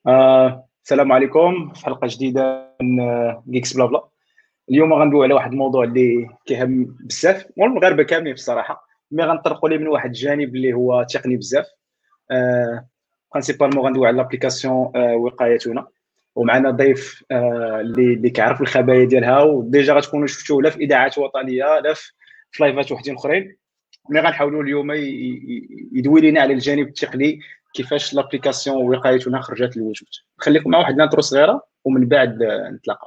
السلام عليكم في حلقة جديدة من جيكس بلا بلا. اليوم غندويو على واحد الموضوع اللي كيهم بزاف والمغاربة كاملين بصراحة، مي غنطرقوا ليه من واحد الجانب اللي هو تقني بزاف. برينسيبالمون غندويو على لابليكاسيون وقايتنا، ومعنا ضيف اللي كيعرف الخبايا ديالها، وديجا غتكونوا شفتوه لا في اذاعات وطنيه لا في لايفات وحدين اخرين. ملي غنحاولوا اليوم يدوي لنا على الجانب التقني، كيفاش لابليكاسيون وقايتنا خرجت للوجود. نخليكم مع واحد الانترو صغيره ومن بعد نتلاقاو.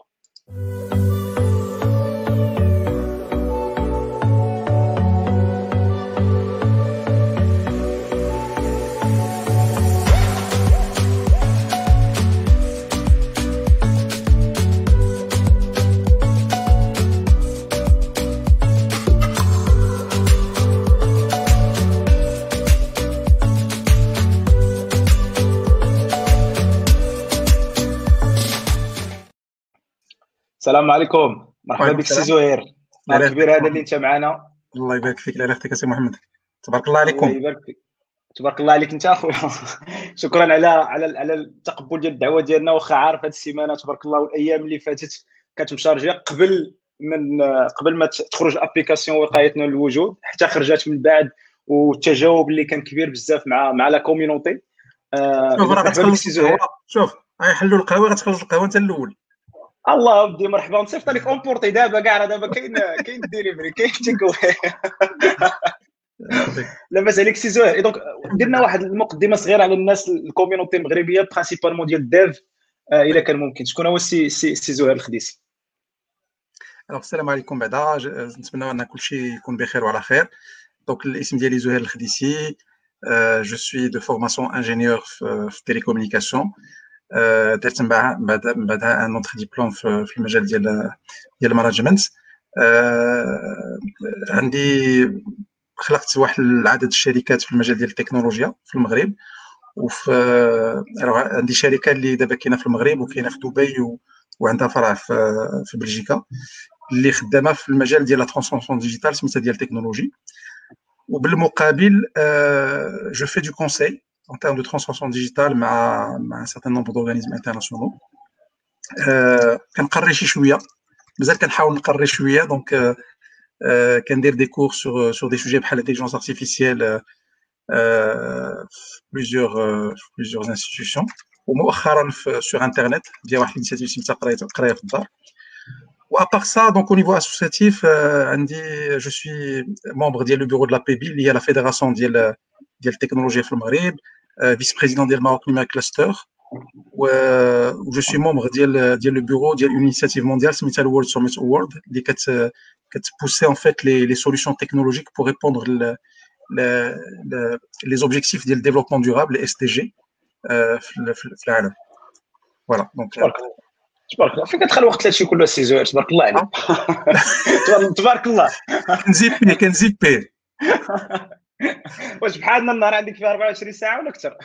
السلام عليكم، مرحبا وعليكم بك سي السلام. زهير. لا نهار اله الا كبير هذا اللي محمد. انت معنا. الله يبارك فيك، لا اله الا سي محمد. تبارك الله الله عليكم. يبارك فيك. تبارك الله عليك انت اخويا. شكرا على التقبل ديال الدعوه ديالنا، واخا عارف هذه السيمانه تبارك الله والايام اللي فاتت كانت مشارجه قبل ما تخرج الابليكاسيون وقايتنا للوجود، حتى خرجت من بعد، والتجاوب اللي كان كبير بزاف مع لا كوميونيتي. شوف دونك راه مرحبا بك غتخلص سي القهوه. زهير. شوف غيحلوا القهوه، غتخلص القهوه انت الاول. الله ودي مرحبا، نصيفط لك اونبورتي دابا كاع، راه دابا كاين الديليفري، كاين تيكوي. يعطيك لاباس عليك سي زهير. دونك الحمد درنا لله. واحد المقدمه صغيره على الناس، الكوميونيتي المغربيه برينسيبالمون ديال الديف. الا كان ممكن، شكون هو سي زهير الخديسي؟ السلام عليكم. بعدا نتمنى ان كل شيء يكون بخير وعلى خير. دونك الاسم ديالي زهير الخديسي. جو سوي دو فورماسيون انجينيور في تيليكومونيكاسيون. درت من بعدها ان اوتر ديبلوم في المجال ديال المانجمنت. عندي خلقت واحد العدد الشركات في المجال ديال التكنولوجيا في المغرب. وفي عندي شركه اللي دابا كاينه في المغرب وكاينه في دبي وعندها فرع في بلجيكا، اللي خدامه في المجال ديال لا ترانسفورماسيون ديجيتال سميتها ديال التكنولوجي. وبالمقابل جو في دو كونساي en termes de transformation digitale مع un certain nombre d'organismes internationaux. كنقري شي شويه، مازال كنحاول نقري شويه. دونك كندير دي كور sur des sujets بحال l'intelligence artificielle plusieurs institutions. ومؤخرا sur internet ديال واحد الانيشيتيف سميتها قرايه في الدار. وابار سا دونك au niveau associatif عندي جو سوي membre ديال le bureau de la PEBI اللي هي la fédération ديال التكنولوجيا في المغرب، فيس بريزيدون ديال ماروك نيما كلاستر. و جو سوي membre ديال le bureau ديال une initiative mondiale سميتها World Summit Award اللي كتبوسي en fait les solutions technologiques pour répondre les objectifs ديال développement durable les SDG في العالم. فوالا دونك تبارك الله، تبارك الله. فين كتدخل الوقت هادشي كله سي زهير؟ تبارك الله عليك. تبارك الله. كنزيبي واش بحالنا النهار عندك فيه 24 ساعه ولا اكثر؟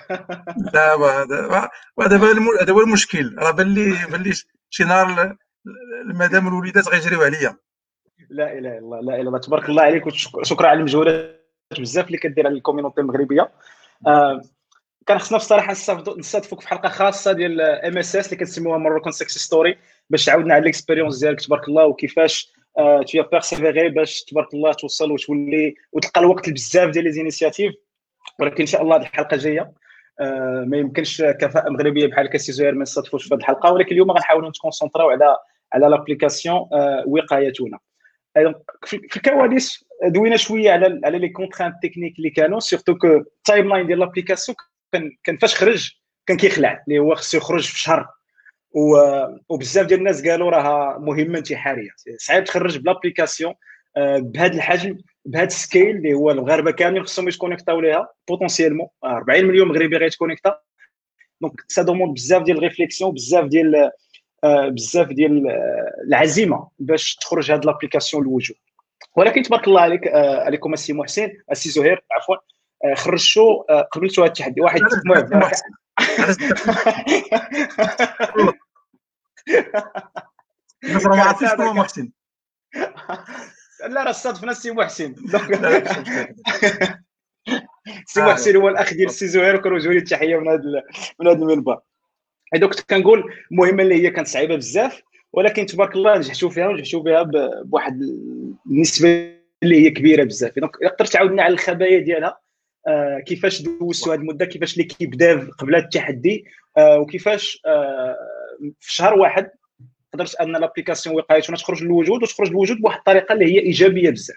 دابا هذا هو المشكل. راه بان لي شي نهار المدام والوليدات غيجريو عليا. لا اله الا الله، لا اله الا الله. تبارك الله عليك، وشكرا على المجهودات بزاف اللي كدير على الكوميونيتي المغربيه. كان خصنا بصراحه نستضيفوك في حلقه خاصه ديال ام اس اس اللي كنسميوها مروكان سكسس ستوري، باش تعاودنا على الاكسبيريونس ديالك تبارك الله، وكيفاش تو بيرسيفيري باش تبارك الله توصل وتولي وتلقى الوقت لبزاف ديال لي زينيسياتيف. ولكن ان شاء الله هذه الحلقه جايه ما يمكنش كفاءه مغربيه بحال كسي زهير ما نستضيفوش في هذه الحلقه، ولكن اليوم غنحاولوا نتكونسونطراو على لابليكاسيون وقايتنا. في الكواليس دوينا شويه على لي كونترانت تكنيك اللي كانوا، سورتو كو التايم لاين ديال لابليكاسيون كان فاش خرج كان كيخلع، اللي هو خصو يخرج في شهر. وبزاف ديال الناس قالوا راها مهمه انتحاريه، صعيب تخرج بلابليكاسيون بهذا الحجم بهذا السكيل، اللي هو المغاربه كاملين خصهم يتكونيكتاو ليها بوتونسيالمون 40 مليون مغربي غيتكونيكتا. دونك سا دوموند بزاف ديال الريفليكسيون، بزاف ديال العزيمه باش تخرج هذه لابليكاسيون للوجود. ولكن تبارك الله عليك، عليكم السي محسن، السي زهير عفوا، خرجتوا قبلتوا هذا التحدي واحد. المهم الناس راه ما عارفينش شنو هو محسن. لا راه صادفنا السي محسن. السي محسن هو الاخ ديال السي زهير، وكنوجهوا له التحيه من هذا المنبر. دوك كنت كنقول المهمه اللي هي كانت صعيبه بزاف، ولكن تبارك الله نجحتوا فيها ونجحتوا بها بواحد النسبه اللي هي كبيره بزاف. دونك الا قدرت تعاودنا على الخبايا ديالها، كيفاش دوزتوا هذه المده، كيفاش ليكيب داف قبل التحدي، وكيفاش في شهر واحد قدرت ان لابليكاسيون وقايتنا تخرج للوجود، وتخرج للوجود بواحد الطريقه اللي هي ايجابيه بزاف.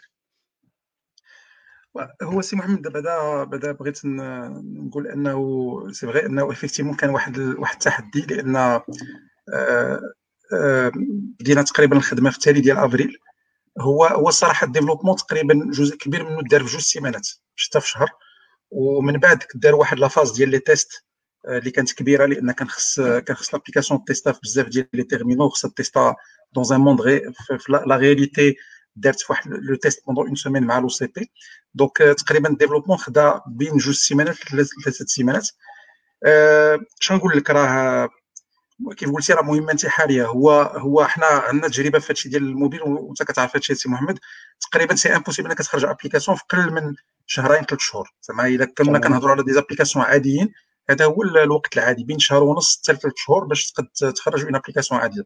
هو سي محمد بعدا بغيت نقول انه سي فغي انه افيكتيفمون كان واحد التحدي، لان بدينا تقريبا الخدمه في التالي ديال افريل. هو الصراحه الديفلوبمون تقريبا جزء كبير منه دار في 2 سيمانات حتى في شهر، ومن بعد دار واحد لافاز ديال لي تيست اللي كانت كبيره، لان كان خص لابليكاسيون تيستا في بزاف ديال لي تيرمينو، خصها تيستا دون ان موند في لا رياليتي. دارت في واحد لو تيست بوندون اون سيمين مع لو سي بي. دونك تقريبا الديفلوبمون خدا بين 2 سيمانات ل3 سيمانات. شنو نقول لك، راه كيف قلتي راه مهمه انتحاريه. هو حنا عندنا تجربه في هادشي ديال الموبيل، وانت كتعرف هادشي سي محمد. تقريبا سي امبوسيبل انك تخرج ابليكاسيون في قل من شهرين 3 شهور. زعما الا كنا كنهضروا على دي زابليكاسيون عاديين، هذا هو الوقت العادي بين شهر ونص حتى 3 شهور باش تقد تخرج من ابليكاسيون عاديه.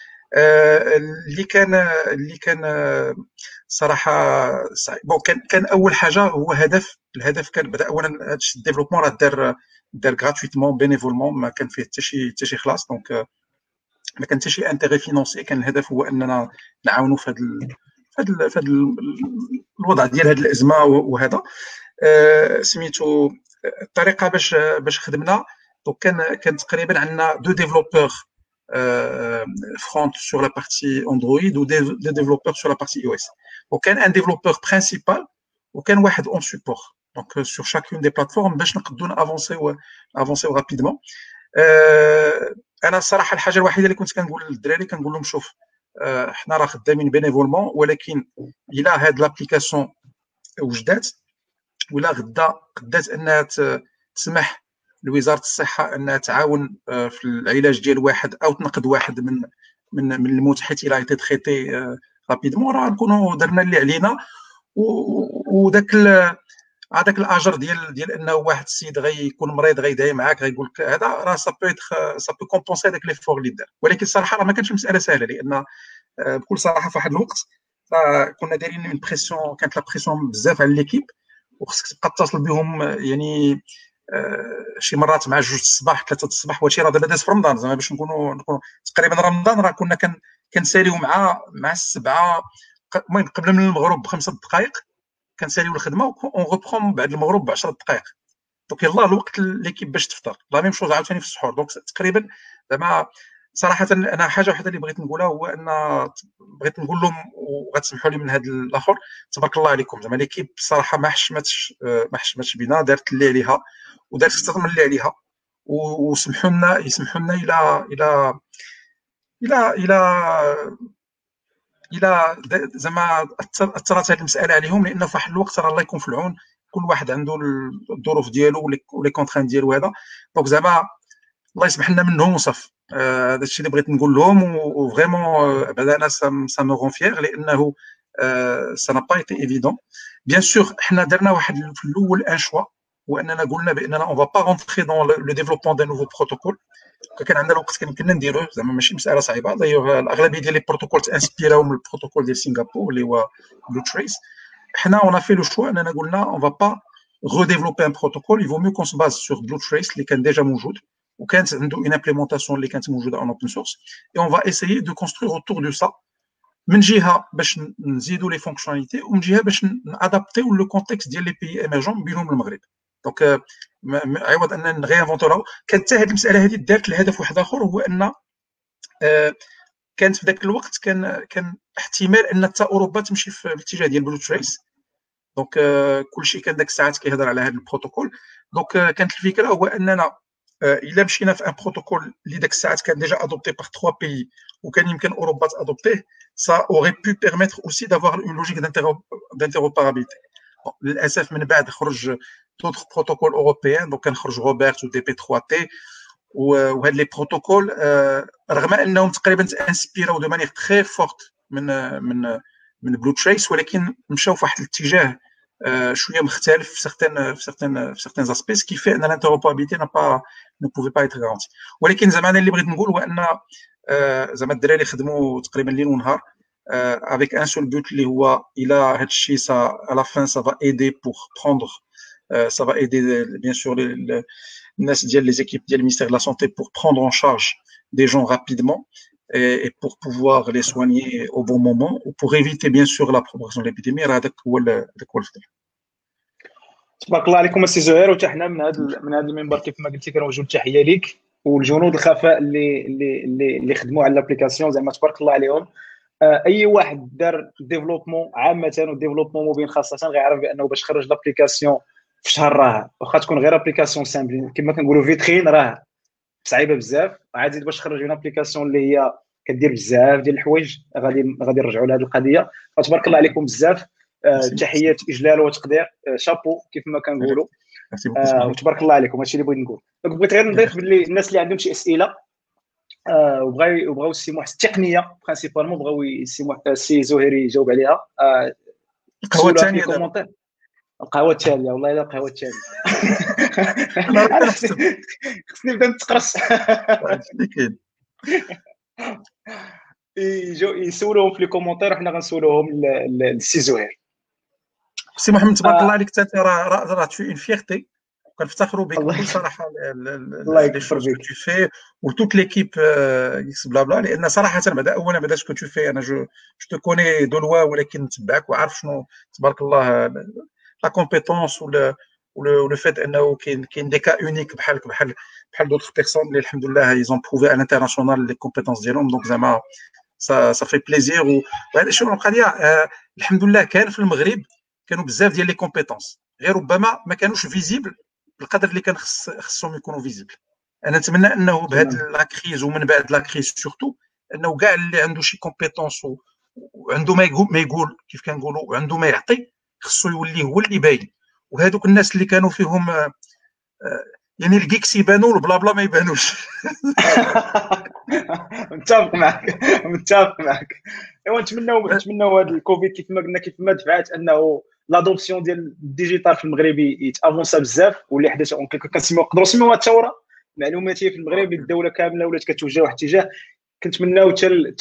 اللي كان صراحه بون كان اول حاجه هو الهدف كان بدا اولا هذا الديفلوبمون راه دار غراتويتمون بينيفولمون، ما كان فيه حتى شي خلاص. دونك ما كان حتى شي انتيغي فينونسي. كان الهدف هو اننا نعاونوا في هذا الوضع ديال هذه الازمه. وهذا سميتو الطريقه باش خدمنا. دونك كان تقريبا عندنا 2 ديفلوبور front sur la partie Android ou des développeurs sur la partie iOS. وكان un développeur principal وكان واحد en support. Donc sur chacune des plateformes باش نقدروا avancer rapidement. انا الصراحه الحاجه الوحيده اللي كنت كنقول للدراري كنقول لهم شوف، حنا راه خدامين بينيفولمون، ولكن الا هاد لابليكاسيون وجدات ولا غدا قدات انها تسمح لوزاره الصحه انها تعاون في العلاج ديال واحد او تنقذ واحد من الموت حيت الى ايتي تريتي رابيدمون، راه نكونوا درنا اللي علينا. وداك هذاك الاجر ديال انه واحد السيد غيكون مريض غيدعي معاك غيقول لك هذا، راه سا بو كومبونسي هذاك لي فور اللي دار. ولكن الصراحه راه ما كانتش مساله سهله، لان بكل صراحه في واحد الوقت كنا دايرين اون بريسيون، كانت لا بريسيون بزاف على ليكيب، وخصك تبقى تتصل بهم يعني شي مرات مع 2 الصباح 3 الصباح. وهادشي راه دابا داز في رمضان، زعما باش نكونوا تقريبا رمضان راه كنا كنساليو مع 7، المهم قبل من المغرب ب5 دقائق كنساليو الخدمه، اون ريبخون بعد المغرب ب10 دقائق. دونك يلاه الوقت ليكيب باش تفطر، لا ميم شوز عاوتاني في السحور. دونك تقريبا زعما صراحه انا حاجه وحده اللي بغيت نقولها هو ان بغيت نقول لهم وغتسمحوا لي من هذا الاخر، تبارك الله عليكم. زعما ليكيب الصراحه ما حشمتش بينا، دارت اللي عليها ودارت اكثر من اللي عليها. وسمحوا لنا الى زعما اثرت هذه المساله عليهم، لانه في واحد الوقت راه الله يكون في العون، كل واحد عنده الظروف ديالو ولي كونترين ديالو هذا. دونك زعما الله يسمح لنا منهم وصف. هذا الشيء اللي بغيت نقول لهم، وفريمون بعدا انا سا مو غون فيير، لانه سا نا با ايتي ايفيدون. بيان سور حنا درنا واحد في الاول ان شوا، هو اننا قلنا باننا اون فا با رونتري دون لو ديفلوبمون دان نوفو بروتوكول. كان عندنا الوقت كان يمكننا نديروه، زعما ماشي مساله صعيبه. دايوغ الاغلبيه ديال لي بروتوكول تانسبيراو من البروتوكول ديال سنغافور اللي هو بلو تريس. حنا اون في لو شوا اننا قلنا اون فا با redévelopper un protocole, il vaut mieux qu'on se base sur Blue Trace اللي كان ديجا موجود وكانت عنده une implémentation اللي كانت موجوده en open source, et on va essayer de construire autour de ça من جهه باش نزيدوا لي فونكسيوناليتي، ومن جهه باش نادابتيو لو كونتكست ديال لي بيي ايمرجون بينهم المغرب. دونك عوض ان نغيانفونتو، كانت حتى هذه المساله هذه دارت لهدف واحد اخر، هو ان كانت في ذاك الوقت كان احتمال ان حتى اوروبا تمشي في الاتجاه ديال بلو تريس. دونك كلشي كان داك الساعات كيهضر على هذا البروتوكول. دونك كانت الفكره هو اننا الا مشينا في ان بروتوكول اللي داك الساعات كان ديجا ادوبتي باغ 3 بيي وكان يمكن اوروبا تادوبتيه، ça aurait pu permettre aussi d'avoir une logique d'interopérabilité. للاسف من بعد خرج d'autres protocoles européens، دونك كان خرج روبرت و دي بي 3 تي وهاد لي بروتوكول، رغم انهم تقريبا انسبيراو دو مانيير تري فورت من بلو تريس، ولكن مشاو في واحد الاتجاه شويه مختلف في certains aspects, ce qui fait ان l'interopérabilité ne pouvait pas être garantie. ولكن زعما انا اللي بغيت نقول هو ان زعما الدراري خدموا تقريبا ليل ونهار avec un seul but اللي هو الى هذا الشيء à la fin ça va aider pour prendre ça va aider bien sûr الناس ديال les équipes ديال le ministère de la santé pour prendre en charge des gens rapidement et pour pouvoir les soigner au bon moment ou pour éviter bien sûr la propagation de l'épidémie. هذاك هو الفضل. تبارك الله عليكم السي زهير، وحتى حنا من هذا المنبر كيف ما قلتي كنوجهوا التحيه ليك والجنود الخفاء اللي خدموا على الابليكاسيون، زعما تبارك الله عليهم. اي واحد دار ديفلوبمون عامه وديفلوبمون موبيل خاصه غيعرف بانه باش خرج لابليكاسيون في شهر راه واخا تكون غير ابليكاسيون سامبل كما كنقولوا فيترين راه صعيبه بزاف، عادي باش تخرج من ابليكاسيون اللي هي كدير بزاف ديال الحوايج غادي نرجعوا لهذه القضيه. فتبارك الله عليكم بزاف، تحيات اجلال وتقدير، شابو كيف ما كنقولوا. وتبارك الله عليكم، هادشي اللي بغيت نقول. بغيت غير نضيف باللي الناس اللي عندهم شي اسئله وبغاو السي محسن التقنيه برينسيبالمون بغاو السي زهير يجاوب عليها. القهوه الثانيه القهوه التاليه، والله الا القهوه التاليه خصني نبدا نتقرص. يسولوهم في لي كومونتير وحنا غنسولوهم للسي زهير. سي محمد تبارك الله عليك، انت راه تو اون فيرتي، كنفتخروا بك بكل صراحه لي شوز كو تو في وتوت ليكيب اكس بلا بلا، لان صراحه اولا بعدا سكو تو في انا جو تو كوني دو لوا، ولكن نتبعك وعارف شنو تبارك الله لا كومبيتونس ولو فيت انه كاين دي كا اونيك بحال دوطخ بيرسون اللي الحمد لله ايزون بروفي على الانترناسيونال لي كومبيتونس ديالهم. دونك زعما ça fait plaisir. وهذا شنو القضيه، الحمد لله كان في المغرب كانوا بزاف ديال لي كومبيتونس، غير ربما ما كانوش فيزيبل بالقدر اللي كان خصهم يكونوا فيزيبل. انا نتمنى انه بهذه لا كريز ومن بعد لا كريز سورتو انه كاع اللي عنده شي كومبيتونس وعنده ما يقول كيف كنقولوا وعنده ما يعطي خصو يولي هو اللي باين. وهذوك الناس اللي كانوا فيهم يعني الكيكس يبانوا والبلا بلا ما يبانوش. متفق معك. ايوا نتمنوا هذا الكوفيد كيف ما قلنا كيف ما دفعت انه لادوبسيون ديال الديجيتال في المغرب يتافونسا بزاف، واللي حدث نقدروا نسميوها الثوره المعلوماتيه في المغرب. الدوله كامله ولات كتوجه واحد الاتجاه. كنتمناو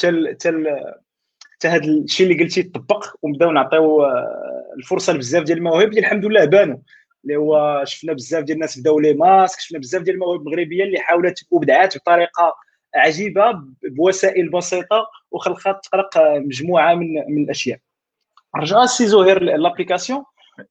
حتى هذا الشيء اللي قلتي يطبق ونبداو نعطيو الفرصه لبزاف ديال المواهب اللي الحمد لله بانوا، اللي هو شفنا بزاف ديال الناس بداو لي ماسك، شفنا بزاف ديال المواهب المغربيه اللي حاولت وبدعات بطريقه عجيبه بوسائل بسيطه وخلقت تخلق مجموعه من الاشياء. رجع السي زهير لابليكاسيون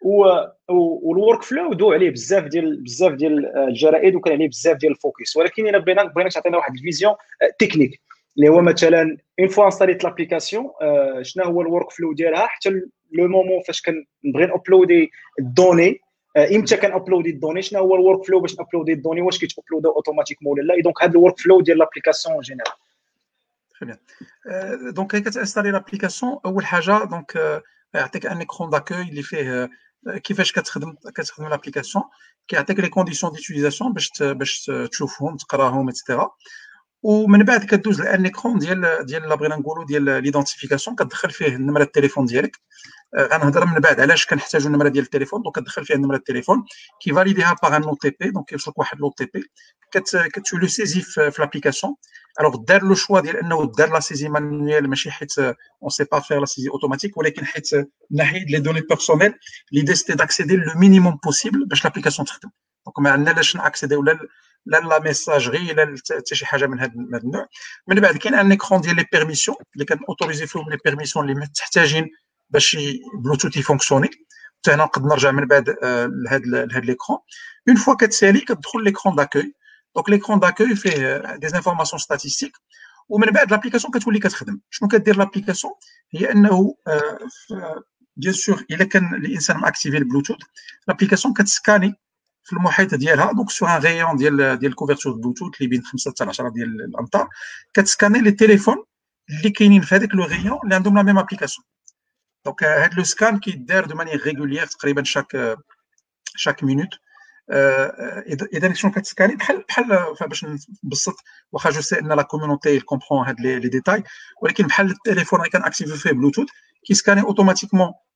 والورك فلو دو عليه بزاف ديال الجرائد وكان عليه بزاف ديال الفوكس، ولكن الا بغينا تعطينا واحد الفيزيون تكنيك اللي هو مثلا اون فوا انستاليت لابليكاسيون شنو هو الورك فلو ديالها حتى لو مومون فاش كنبغي نابلودي الدوني، امتى كنابلودي الدوني، شنو هو الورك فلو باش نابلودي الدوني، واش كيتابلودو اوتوماتيكمون ولا لا. دونك هذا الورك فلو ديال لابليكاسيون جينيرال. Très bien. Donc, quand tu installes l'application, أول حاجة donc يعطيك un écran d'accueil اللي فيه كيفاش كتخدم l'application، كيعطيك les conditions d'utilisation باش تشوفهم تقراهم etc. ومن بعد كدوز لان ايكرون ديال بغينا نقولوا ديال ليدونتيفيكاسيون، كتدخل فيه النمره التليفون ديالك. غنهضر من بعد علاش كنحتاجوا النمره ديال التليفون. دونك كتدخل فيها النمره التليفون كيفاليديها باغ ان او تي بي، دونك كيوصلك واحد لو تي بي كتشو لو سيزي في لابليكاسيون. الوغ دار لو شوا ديال انه دار لا سيزي مانويل، ماشي حيت اون سي با فير لا سيزي اوتوماتيك، ولكن حيت ناحيه لي دوني بيرسونيل ليدي سيتي داكسيدي لو مينيموم بوسيبل باش لابليكاسيون تخدم. دونك ما عندنا لاش ناكسيديو لا ميساجري لا حتى شي حاجه من هذا النوع. من بعد كاين ان ايكرون ديال لي بيرميسيون اللي كنوتوريزي فيهم لي بيرميسيون اللي محتاجين باش بلوتوث يفونكسيوني. حتى هنا نقدر نرجع من بعد لهاد ليكرون. اون فوا كتسالي كتدخل ليكرون داكوي. دونك ليكرون داكوي فيه دي انفورماسيون ستاتيستيك، ومن بعد لابليكاسيون كتولي كتخدم. شنو كدير لابليكاسيون هي انه بيان سور الا كان الانسان ماكتيفي البلوتوث، لابليكاسيون كتسكاني في المحيط ديالها. دونك سور ان غيون ديال الكوفرتور بلوتوث اللي بين 5 حتى 10 ديال الامتار، كتسكاني لي تيليفون اللي كاينين في هذاك لو غيون اللي عندهم لا ميم ابليكاسيون. دونك هاد لو سكان كيدار دو مانيير ريغوليير تقريبا شاك مينوت. اذا شنو كتسكاني بحال باش نبسط، واخا جو سي ان لا كوميونيتي كومبرون هاد لي ديتاي، ولكن بحال التليفون اللي كان اكتيفي فيه بلوتوث كيسكاني اوتوماتيكمون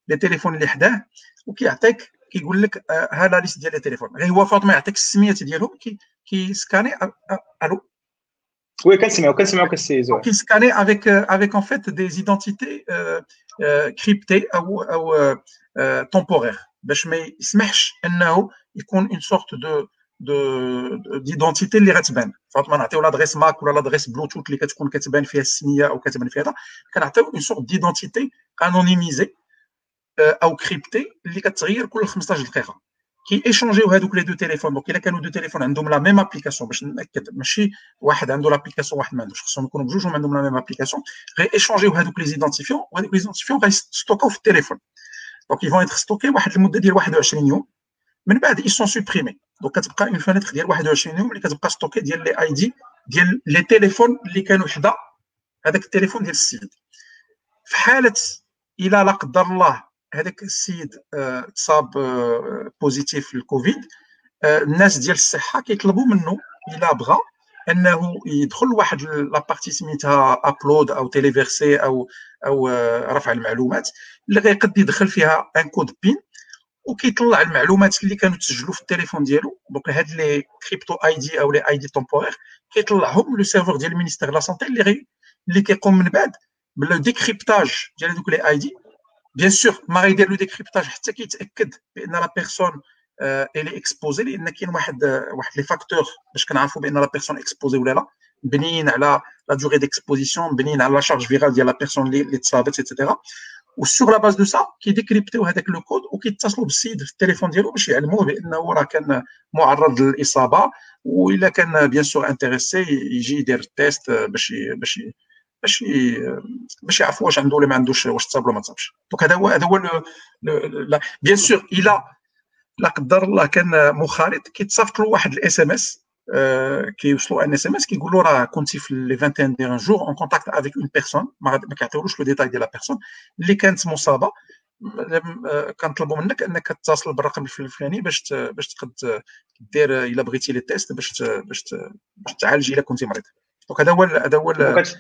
لي تيليفون اللي حداه وكيعطيك كيقول لك ها لا ليست ديال لي تيليفون، غير هو فاط ما يعطيك السميات ديالهم كيسكاني. الو وي كنسمعوا كالسي زهير. كيسكاني avec en fait des identités cryptées او temporaires باش ما يسمحش انه يكون une sorte ديدونتيتي اللي غتبان. فاطمه نعطيو لادريس ماك ولا لادريس بلوتوث اللي كتكون كتبان فيها السميه او كتبان فيها هذا، كنعطيو اون سورت ديدونتيتي انونيميزي او كريبتي اللي كتغير كل 15 دقيقه. كي ايشونجيو هذوك لي دو تيليفون. دونك الا كانوا دو تيليفون عندهم لا ميم ابليكاسيون، باش ناكد ماشي واحد عنده لابليكاسيون واحد ما عندوش، خصهم يكونوا بجوجهم عندهم لا ميم ابليكاسيون، غير ايشونجيو هذوك لي زيدونتيفيون، وهذوك لي زيدونتيفيون غيستوكاو في التليفون. دونك يفون يتر ستوكي واحد المده ديال 21 يوم، من بعد اي سون سوبريمي. دونك كتبقى اون فانيتر ديال 21 يوم اللي كتبقى ستوكي ديال لي اي دي ديال لي تيليفون اللي كانوا حدا هذاك التليفون ديال السيد. في حاله الى لا قدر الله هذاك السيد تصاب بوزيتيف للكوفيد، الناس ديال الصحه كيطلبوا منه الا بغى انه يدخل لواحد لابارتي سميتها ابلود او تيليفيرسي او رفع المعلومات، اللي غيقد يدخل فيها ان كود بين وكيطلع المعلومات اللي كانوا تسجلوا في التليفون ديالو. دونك هاد لي كريبتو اي دي او لي اي دي تومبورير كيطلعهم لو سيرفور ديال المينيستير لا سونتي اللي كيقوم من بعد بالو ديكريبتاج ديال هذوك لي اي دي. بيان سور ما غيدير لو ديكريبتاج حتى كيتاكد بان لا بيرسون الي اكسبوزي، لان كاين واحد لي فاكتور باش كنعرفوا بان لا بيرسون اكسبوزي ولا لا، مبنيين على لا دوغي ديكسبوزيسيون، مبنيين على لا شارج فيرال ديال لا بيرسون اللي تصابت ايتترا. وسور لا باز دو سا كيديكريبتيو هذاك لو كود وكيتصلوا بالسيد في التليفون ديالو باش يعلموه بانه راه كان معرض للاصابه، والا كان بيان سور انتريسي يجي يدير التيست باش يعرفوا واش عنده ولا ما عندوش، واش تصاب ولا ما تصابش. دونك هذا هو بيان سور الا لا قدر الله كان مخالط كيتصيفط له واحد الاس ام اس، كيوصلوا ان اس ام اس كيقول له راه كنتي في لي 21 ديران جور اون كونتاكت افيك اون بيرسون، ما كيعطيولوش لو ديتاي ديال لا بيرسون اللي كانت مصابه، كنطلبوا منك انك تتصل بالرقم الفلاني باش تقد دير الا بغيتي لي تيست باش تعالج الا كنتي مريض. دونك هذا هو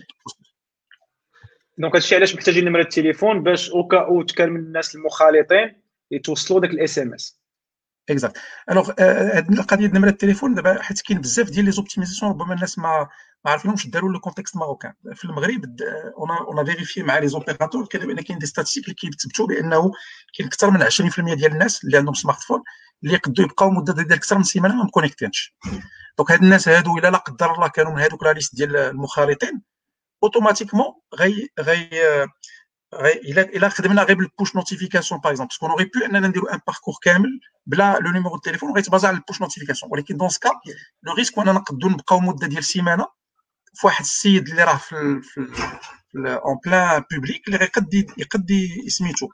دونك هادشي علاش محتاجين نمره التليفون باش اوكا او كان من الناس المخالطين يتوصلوا داك الاس ام اس. اكزاكت. الوغ هاد القضيه ديال نمره التليفون دابا حيت كاين بزاف ديال لي زوبتيميزاسيون ربما الناس ما عارفينهمش داروا لو كونتكست ماروكان. في المغرب اون فيريفي مع لي زوبيراتور بان كاين دي ستاتيستيك اللي كيثبتوا بانه كاين اكثر من 20% ديال الناس اللي عندهم سمارت فون اللي يقدروا يبقاو مده ديال اكثر من سيمانه ما مكونيكتينش. دونك هاد الناس هادو الا لا قدر الله كانوا من هادوك لا ليست ديال المخالطين اوتوماتيكمون الا خدمنا غير بالبوش نوتيفيكاسيون باغ اكزومبل، باسكو اوري بو اننا نديرو ان باركور كامل بلا لو نيميرو دو تليفون غيتبازا على البوش نوتيفيكاسيون، ولكن دون سكا لو ريسك اننا نقدروا نبقاو مده ديال سيمانه في واحد السيد اللي راه في اون بلان بوبليك اللي يقد سميتو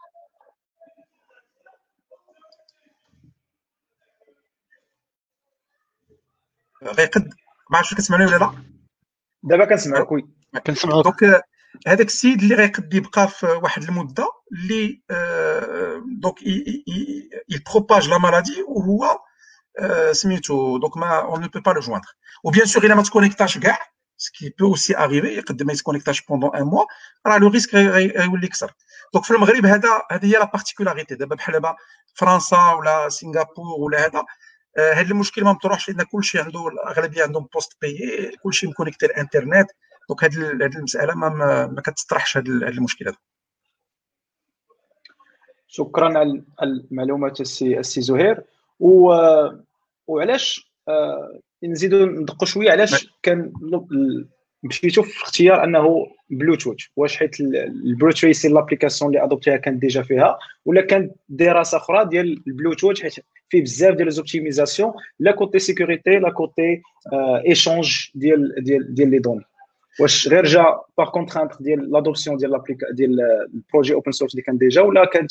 غيقد. ما عرفتش كتسمعني ولا لا؟ دابا كنسمعك. وي كنسمعوك. دونك هذاك السيد اللي غيقد يبقى في واحد المده اللي دونك يبروباج لا مالادي وهو سميتو دونك ما اون نو بو با لو جويندر. وبيان سور الا ما تكونيكتاش كاع سكي بو اوسي اريفي يقدر ما يتكونيكتاش بوندون ان موا، راه لو ريسك غيولي كثر. دونك في المغرب هذه هي لا بارتيكولاريتي. دابا بحال دابا فرنسا ولا سنغافور ولا هذا هذا المشكل ما مطروحش لان كلشي عنده الاغلبيه عندهم بوست بيي، كلشي مكونيكتي الانترنت. دونك هذه المساله ما كتطرحش هذا المشكل هذا. شكرا على المعلومات السي زهير. وعلاش نزيدوا ندقوا شويه علاش كان مشيتوا في اختيار انه بلوتوث؟ واش حيت البلوتوث لابليكاسيون اللي ادوبتيها كانت ديجا فيها، ولا كانت دراسه اخرى ديال البلوتوث حيت فيه بزاف ديال ليزوبتيميزاسيون لا كوتي سيكوريتي لا كوتي ايشونج ديال لي دوني؟ واش غير جا باغ كونترانت ديال لادوبسيون ديال البروجي اوبن سورس اللي كان ديجا، ولا كانت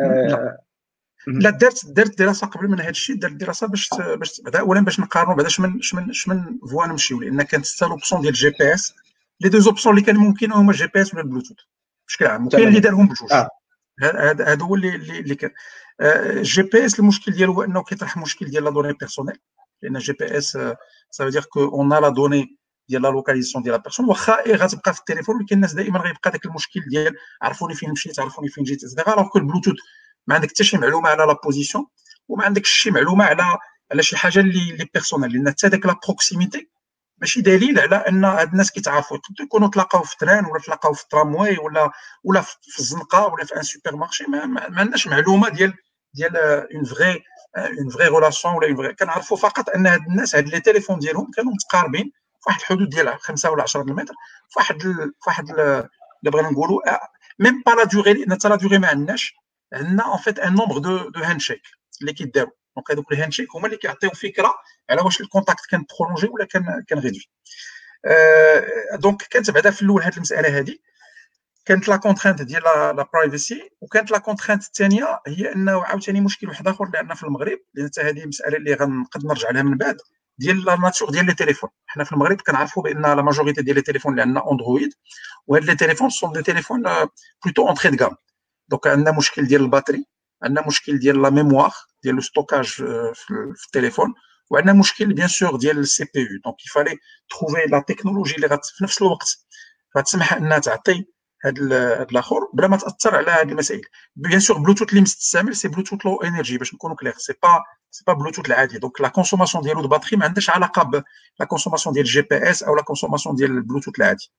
لا درت دراسه قبل من هذا الشيء؟ درت دراسه باش بعدا اولا باش نقارنوا بعدا شمن فوا نمشيو، لان كانت حتى لوبسيون ديال الجي بي اس. لي دو اوبسيون اللي كان ممكن هما الجي بي اس ولا البلوتوث بشكل عام، وكاين اللي دارهم بجوج. هذا هو اللي كان الجي بي اس. المشكل ديالو هو انه كيطرح مشكل ديال لا دوني بيرسونيل، لان الجي بي اس سا فو دير كو اون ا لا دوني ديال لا لوكاليزاسيون ديال لا بيرسون، واخا غتبقى في التليفون، ولكن الناس دائما غيبقى داك المشكل ديال عرفوني فين مشيت، عرفوني فين جيت اكسترا. الوغ كو البلوتوث ما عندك حتى شي معلومه على لا بوزيسيون، وما عندكش شي معلومه على شي حاجه اللي بيرسونيل، لان حتى داك لا بروكسيميتي ماشي دليل على ان هاد الناس كيتعرفوا. يقدروا يكونوا تلاقاو في تران، ولا تلاقاو في الترامواي، ولا في الزنقه، ولا في ان سوبر مارشي. ما عندناش معلومه ديال اون فغي ريلاسيون، ولا اون فغي. كنعرفوا فقط ان هاد الناس هاد لي تيليفون ديالهم كانوا متقاربين في واحد الحدود ديال 5 ولا 10 المتر، في واحد اللي بغينا نقولوا ميم با لا دوغي، لان حتى لا دوغي ما عندناش. عندنا ان فيت ان نومبر دو هاند شيك اللي كيداروا. دونك هذوك لي هاند شيك هما اللي كيعطيو فكره على واش الكونتاكت كان برولونجي ولا كان ريدوي. دونك كانت بعدا في الاول هذه المساله هذه كانت لا كونترانت ديال لا برايفسي، وكانت لا كونترانت الثانيه هي انه عاوتاني مشكل واحد اخر اللي عندنا في المغرب، لان حتى هذه مساله اللي غنقد نرجع لها من بعد، ديال لا ناتور ديال لي تليفون. حنا في المغرب كنعرفوا بان لا ماجوريتي ديال لي تليفون اللي عندنا اندرويد، وهاد لي تليفون سون دي تليفون بلوتو اونتري دو غام. دونك عندنا مشكل ديال الباتري، عندنا مشكل ديال لا ميموار ديال لو ستوكاج في التليفون، وعندنا مشكل بيان سور ديال السي بي يو. دونك يفالي تروفي لا تكنولوجي اللي في نفس الوقت غتسمح انها تعطي هاد الاخر بلا ما تاثر على هاد المسائل. بيان سور بلوتوث اللي مستعمل سي بلوتوث لو انرجي باش نكونوا كلير، سي با بلوتوث العادي. دونك لا كونسوماسيون ديالو دو باتري ما عندهاش علاقه بلا كونسوماسيون ديال الجي بي اس او لا كونسوماسيون ديال البلوتوث العادي.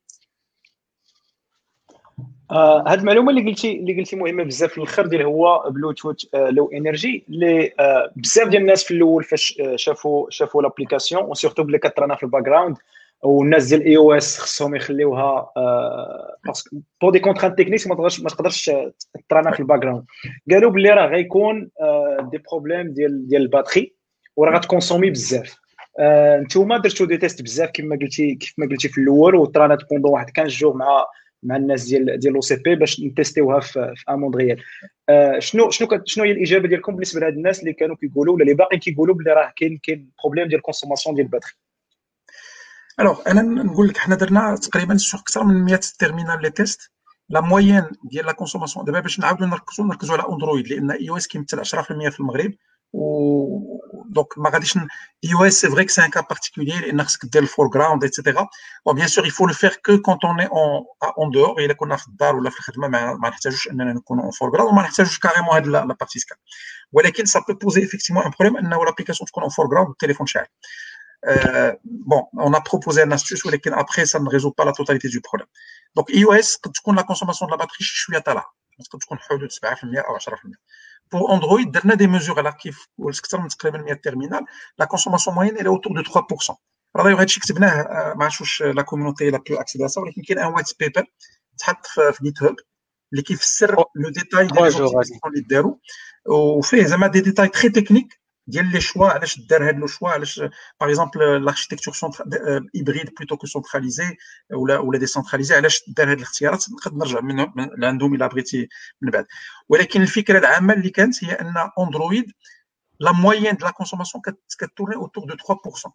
هاد المعلومه اللي قلتي مهمه بزاف في الاخر، ديال هو بلوتوث لو انرجي، اللي بزاف ديال الناس في الاول فاش شافوا لابليكاسيون، وسورتو بلي كترانا في الباك جراوند، والناس ديال اي او اس خصهم يخليوها باسكو بو دي كونترانت تكنيك ما تقدرش ترانا في الباك جراوند. قالوا بلي راه غيكون دي بروبليم ديال الباتري، وراه غتكونسومي بزاف. نتوما درتو دي تيست بزاف كيف ما قلتي في الاول، وترانات بوندون واحد 15 جوغ مع الناس ديال لو سي بي باش نتيستيوها في اموند ريال. شنو هي الاجابه ديالكم بالنسبه لهاد الناس اللي كانوا كيقولوا ولا اللي باقيين كيقولوا بلي راه كاين بروبليم ديال كونسوماسيون ديال الباتري؟ الوغ انا نقول لك حنا درنا تقريبا سوغ اكثر من 100 تيرمينال لي تيست. لا موين ديال لا كونسوماسيون دابا باش نعاودوا نركزوا على اندرويد، لان اي او اس كيمثل 10% في المغرب، و دونك ما غاديش اي او اس سي فري كو سي ان كا بارتيكولير، لان خصك دير الفور جراوند ايتترا. وبيان سور يفو لو فير كو كونت اون اون دور، الا كنا في الدار ولا في الخدمه ما نحتاجوش اننا نكونوا اون فور جراوند، وما نحتاجوش كاريمون هاد لا بارتي سكان. ولكن سا بو بوزي افيكتيفمون ان بروبليم انه لابليكاسيون تكون اون فور جراوند والتليفون شاعل. Bon, on a proposé une astuce, mais après, ça ne résout pas la totalité du problème. Donc, iOS, quand la consommation de la batterie, je suis à tala. Parce que tu connais 7% ou 10%. Pour Android, on a des mesures à l'archive, ou le secteur de terminal, la consommation moyenne elle est autour de 3%. Alors, d'ailleurs, la communauté la plus accédée à ça, mais il y a un white paper, sur GitHub, qui fait le détail des optimisations اللي داروا، وفيه زعما des détails très techniques ديال لي شوا علاش دار هاد لو شوا، علاش باغ اكزومبل لاركتيكتور هيبريد بلوتو كو سنتراليزي ولا ديسنتراليزي، علاش دار هاد الاختيارات. نقدر نرجع من عندهم الا بغيتي من بعد. ولكن الفكره العامه اللي كانت هي ان اندرويد لا موين دو لا كونسوماسيون كتورني اوتور دو 3%.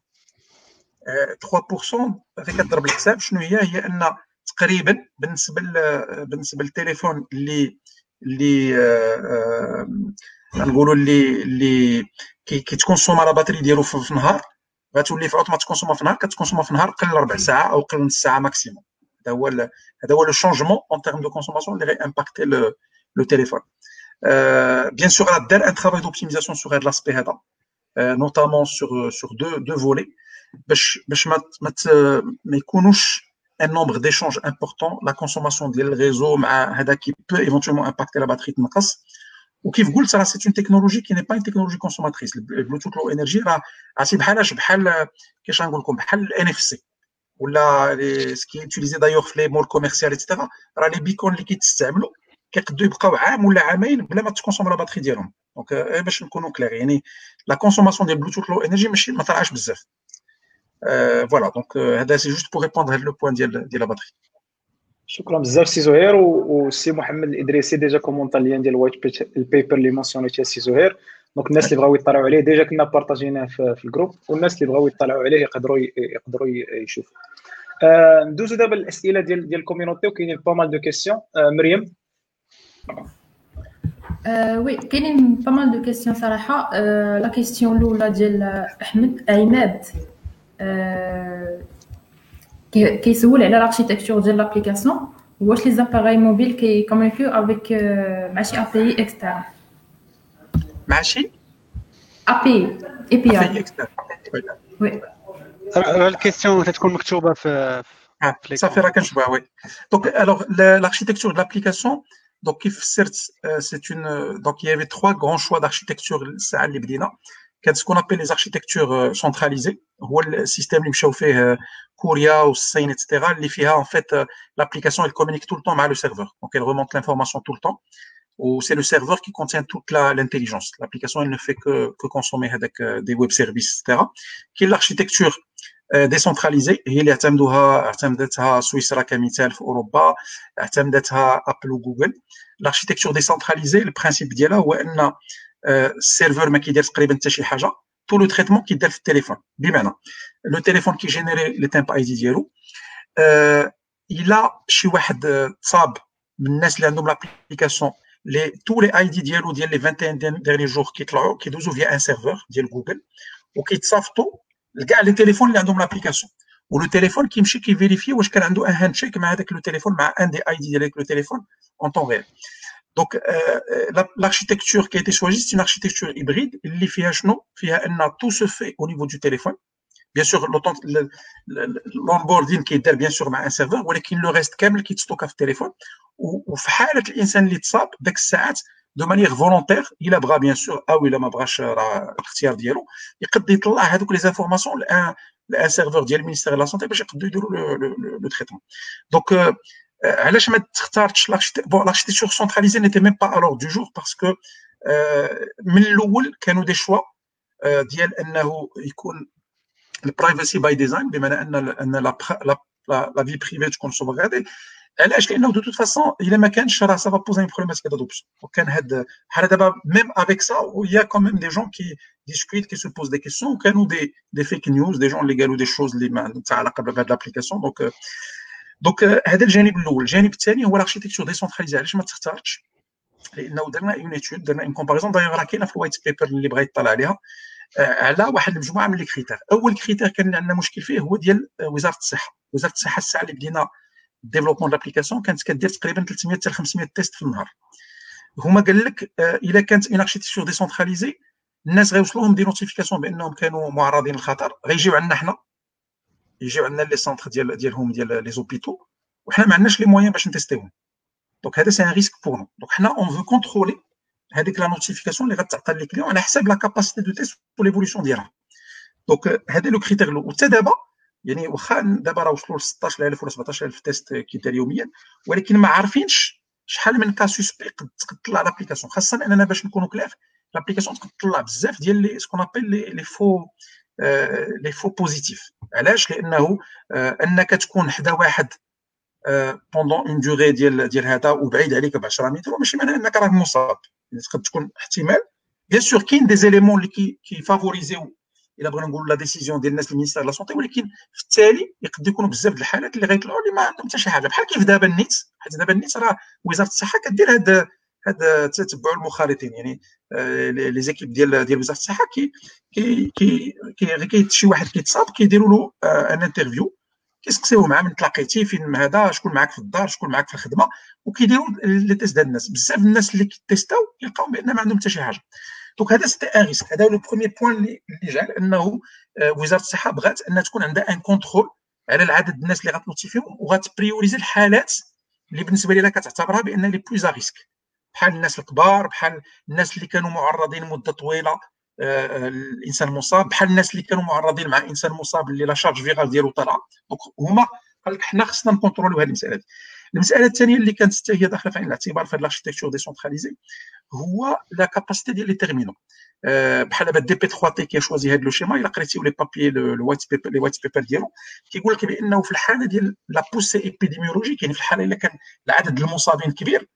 3% غير كتضرب الحساب شنو هي ان تقريبا بالنسبه للتليفون اللي نقولوا اللي كيتكونسوم على باتري ديالو في النهار، غتولي في اوتوماتيك كونسوم في النهار، كتكونسوم في النهار قل 4 ساعات او قل نص ساعه ماكسيموم. هذا هو لو شونجمون اون تيرم دو كونسوماسيون اللي غي امباكتي لو تيليفون. بيان سور راه دار ان ترافاي دوبتيميزاسيون سور هذا لاسبي هذا، نوتامون سور دو فولي، باش ما يكونوش un nombre d'échanges important, la consommation ديال الريزو مع هذا qui peut éventuellement impacter la batterie تنقص. وكيف قلت راه سي اون تكنولوجي كي ني با اون تكنولوجي كونسوماتريس. البلوتوث لو انرجي راه عرفتي بحال كيفاش نقول لكم، بحال الان اف سي ولا سكي يوتيليزي دايوغ في لي مول كوميرسيال ايتترا. راه لي بيكون اللي كيتستعملوا كيقدروا يبقاو عام ولا عامين بلا ما تكونسوم لا باتري ديالهم. دونك باش نكونوا كلير، يعني لا كونسوماسيون ديال البلوتوث لو انرجي ماشي ما طلعش بزاف. فوالا دونك هذا سي جوست بور ريبوندر هاد لو بوين ديال لا باتري. شكرا بزاف سي زهير. وسي محمد الادريسي ديجا كومونطا اللين ديال الوايت البيبر اللي مونسيونيتي سي زهير. دونك الناس اللي بغاو يطلعوا عليه ديجا كنا بارطاجيناه في الجروب، والناس اللي بغاو يطلعوا عليه يقدروا يشوفوا. ندوزو دابا الاسئله ديال الكوميونيتي، وكاينين با مال دو كيسيون. مريم. وي كاينين با مال دو كيسيون صراحه. لا كيسيون الاولى ديال احمد عماد، كيسول على l'architecture ديال l'application واش les appareils mobiles كيكومونيكيو avec مع شي API externe مع شي API اكسترن. وي الكيستيون تكون مكتوبه في صافي راه كنشبه وي. دونك الوغ l'architecture de l'application دونك كيف فسرت سي اون دونك il y avait trois grands choix d'architecture الساعه اللي بدينا. كانت سكون ابل لي زاركتيكتور سونتراليزي هو السيستيم اللي مشاو فيه كوريا والصين ايتترا اللي فيها ان فيت لابليكاسيون elle communique tout le temps مع لو سيرفور دونك elle remonte l'information tout le temps ou c'est le serveur qui contient toute l'intelligence. L'application elle ne fait que consommer avec des web services etc. qui est l'architecture décentralisée هي اللي اعتمدتها سويسرا كمثال في اوروبا اعتمدتها ابل وجوجل. l'architecture décentralisée البرانسيب ديالها هو ان السيرفر ما كيدير تقريبا حتى شي حاجه تو لو تريتمون كيدار في التليفون بمعنى لو تليفون كيجينيري لي تيمب اي دي ديالو الا شي واحد تصاب من الناس اللي عندهم لابليكاسيون لي تو لي اي دي ديالو ديال لي 21 ديرني جور كيطلعوا كيدوزو فيا ان سيرفر ديال جوجل وكيتصافتوا لكاع لي تليفون اللي عندهم لابليكاسيون ولو تليفون كيمشي كيفيريفي واش كان عنده ان هاند شيك مع هذاك لو تليفون مع ان دي اي دي ديال لو تليفون اون طون ريال. Donc, l'architecture qui a été choisie, c'est une architecture hybride. Tout se fait au niveau du téléphone. Bien sûr, l'onboarding qui est bien sûr un serveur, mais le reste qui stocke sur le téléphone. Ou l'insan qui تصاب داك الساعات de manière volontaire, il a bras bien sûr, ou il a ma brache الاختيار ديالو يقدر يطلع هذوك les informations لان serveur ديال المينيستير de la santé باش يقدروا يديروا le traitement. Donc علاش ما تختارتش l'architecture centralisée n'était même pas à l'ordre du jour parce que من الاول كانوا دي شوا ديال انه يكون البرايفسي باي ديزاين بمعنى ان لا في بريفي تكون سوفغادي. علاش؟ لانه دو توت فاسون الا ما كانش راه سافا بوزي ان بروبليماتيك دادوبسيون. وكان هاد بحال دابا ميم افيك سا ويا كوميم دي جون كي ديسكوت كي سو بوز دي كيسيون وكانوا دي فيك نيوز دي جون اللي قالوا دي شوز اللي ما عندهم حتى علاقه بهاد لابليكاسيون. دونك هذا الجانب الاول. الجانب الثاني هو لاركتيكتور ديسونتراليزي. علاش ما تختارتش؟ لانه درنا اون ايتود درنا اون كومباريزون دايوغ راه كاينه في الوايت بيبر اللي بغى يطلع عليها على واحد المجموعه من لي كريتير. اول كريتير كان عندنا مشكل فيه هو ديال وزاره الصحه. وزاره الصحه الساعه اللي بدينا ديفلوبمون لابليكاسيون كانت كدير تقريبا 300 حتى 500 تيست في النهار. هما قال لك الا كانت اون اركتيكتور ديسونتراليزي الناس غيوصلوهم دي نوتيفيكاسيون بانهم كانوا معرضين للخطر غيجيو عندنا حنا يجيو عندنا لي سونتر ديالهم ديال لي زوبيتو وحنا ما عندناش لي مويان باش نتيستيوهم. دونك هذا سي ان ريسك بور نو. دونك حنا اون فو كونترولي هذيك لا نوتيفيكاسيون اللي غتعطى لي كليون على حساب لا كاباسيتي دو تيست و ليفولوسيون ديالها. دونك هذا لو كريتير الاول. وحتى دابا يعني واخا دابا راه وصلوا ل 16000 ولا 17000 تيست كيدار يوميا ولكن ما عارفينش شحال من كا سوسبي قد تطلع لابليكاسيون. خاصه اننا باش نكونوا كلاف لابليكاسيون تقد تطلع بزاف ديال لي سكون ابل لي فو بوزيتيف. علاش؟ لانه انك تكون حدا واحد بوندون اون دوغي ديال هذا وبعيد عليك ب 10 متر ماشي معناه انك راه مصاب. تقد تكون احتمال بيان سور كاين دي زيليمون اللي كيفافوريزيو الا بغينا نقولوا لا ديسيزيون ديال الناس المينيستير لا سونتي ولكن في التالي يقدر يكونوا بزاف د الحالات اللي غيطلعوا اللي ما عندهم حتى شي حاجه بحال كيف دابا النيت. حيت دابا النيت راه وزاره الصحه كدير هذا تتبع المخالطين يعني لي زيكيب ديال وزاره الصحه كي شي واحد كيتصاب كيديروا له ان انترفيو كيسقسيوه معاه من تلاقيتي فين هذا شكون معاك في الدار شكون معاك في الخدمه وكيديروا لي تيست ديال الناس. بزاف الناس اللي كيتيستاو كيلقاو بان ما عندهم حتى شي حاجه. دونك هذا سيتي ان ريسك. هذا هو لو بروميير بوين اللي جعل انه وزاره الصحه بغات انها تكون عندها ان كونترول على العدد الناس اللي غتنوتيفيهم وغتبريوريزي الحالات اللي بالنسبه لها كتعتبرها بان لي بلوز ريسك بحال الناس الكبار بحال الناس اللي كانوا معرضين مده طويله الانسان المصاب بحال الناس اللي كانوا معرضين مع انسان مصاب اللي لا شارج فيرال ديالو طالعه. دونك هما قال لك حنا خصنا نكونتروليو هذه المساله دي. المساله الثانيه اللي كانت حتى هي داخله في عين الاعتبار في الاركتيكتور ديسونتراليزي هو لا كاباسيتي ديال لي تيرمينو. بحال دابا دي بي 3 تي كي شوازي هذا لو شيما الا قريتيو لي بابي لو وايت بيبر ديالو كيقول لك بانه في الحاله ديال لا بوسي ايبيديميولوجيك يعني في الحاله الا كان العدد المصابين كبير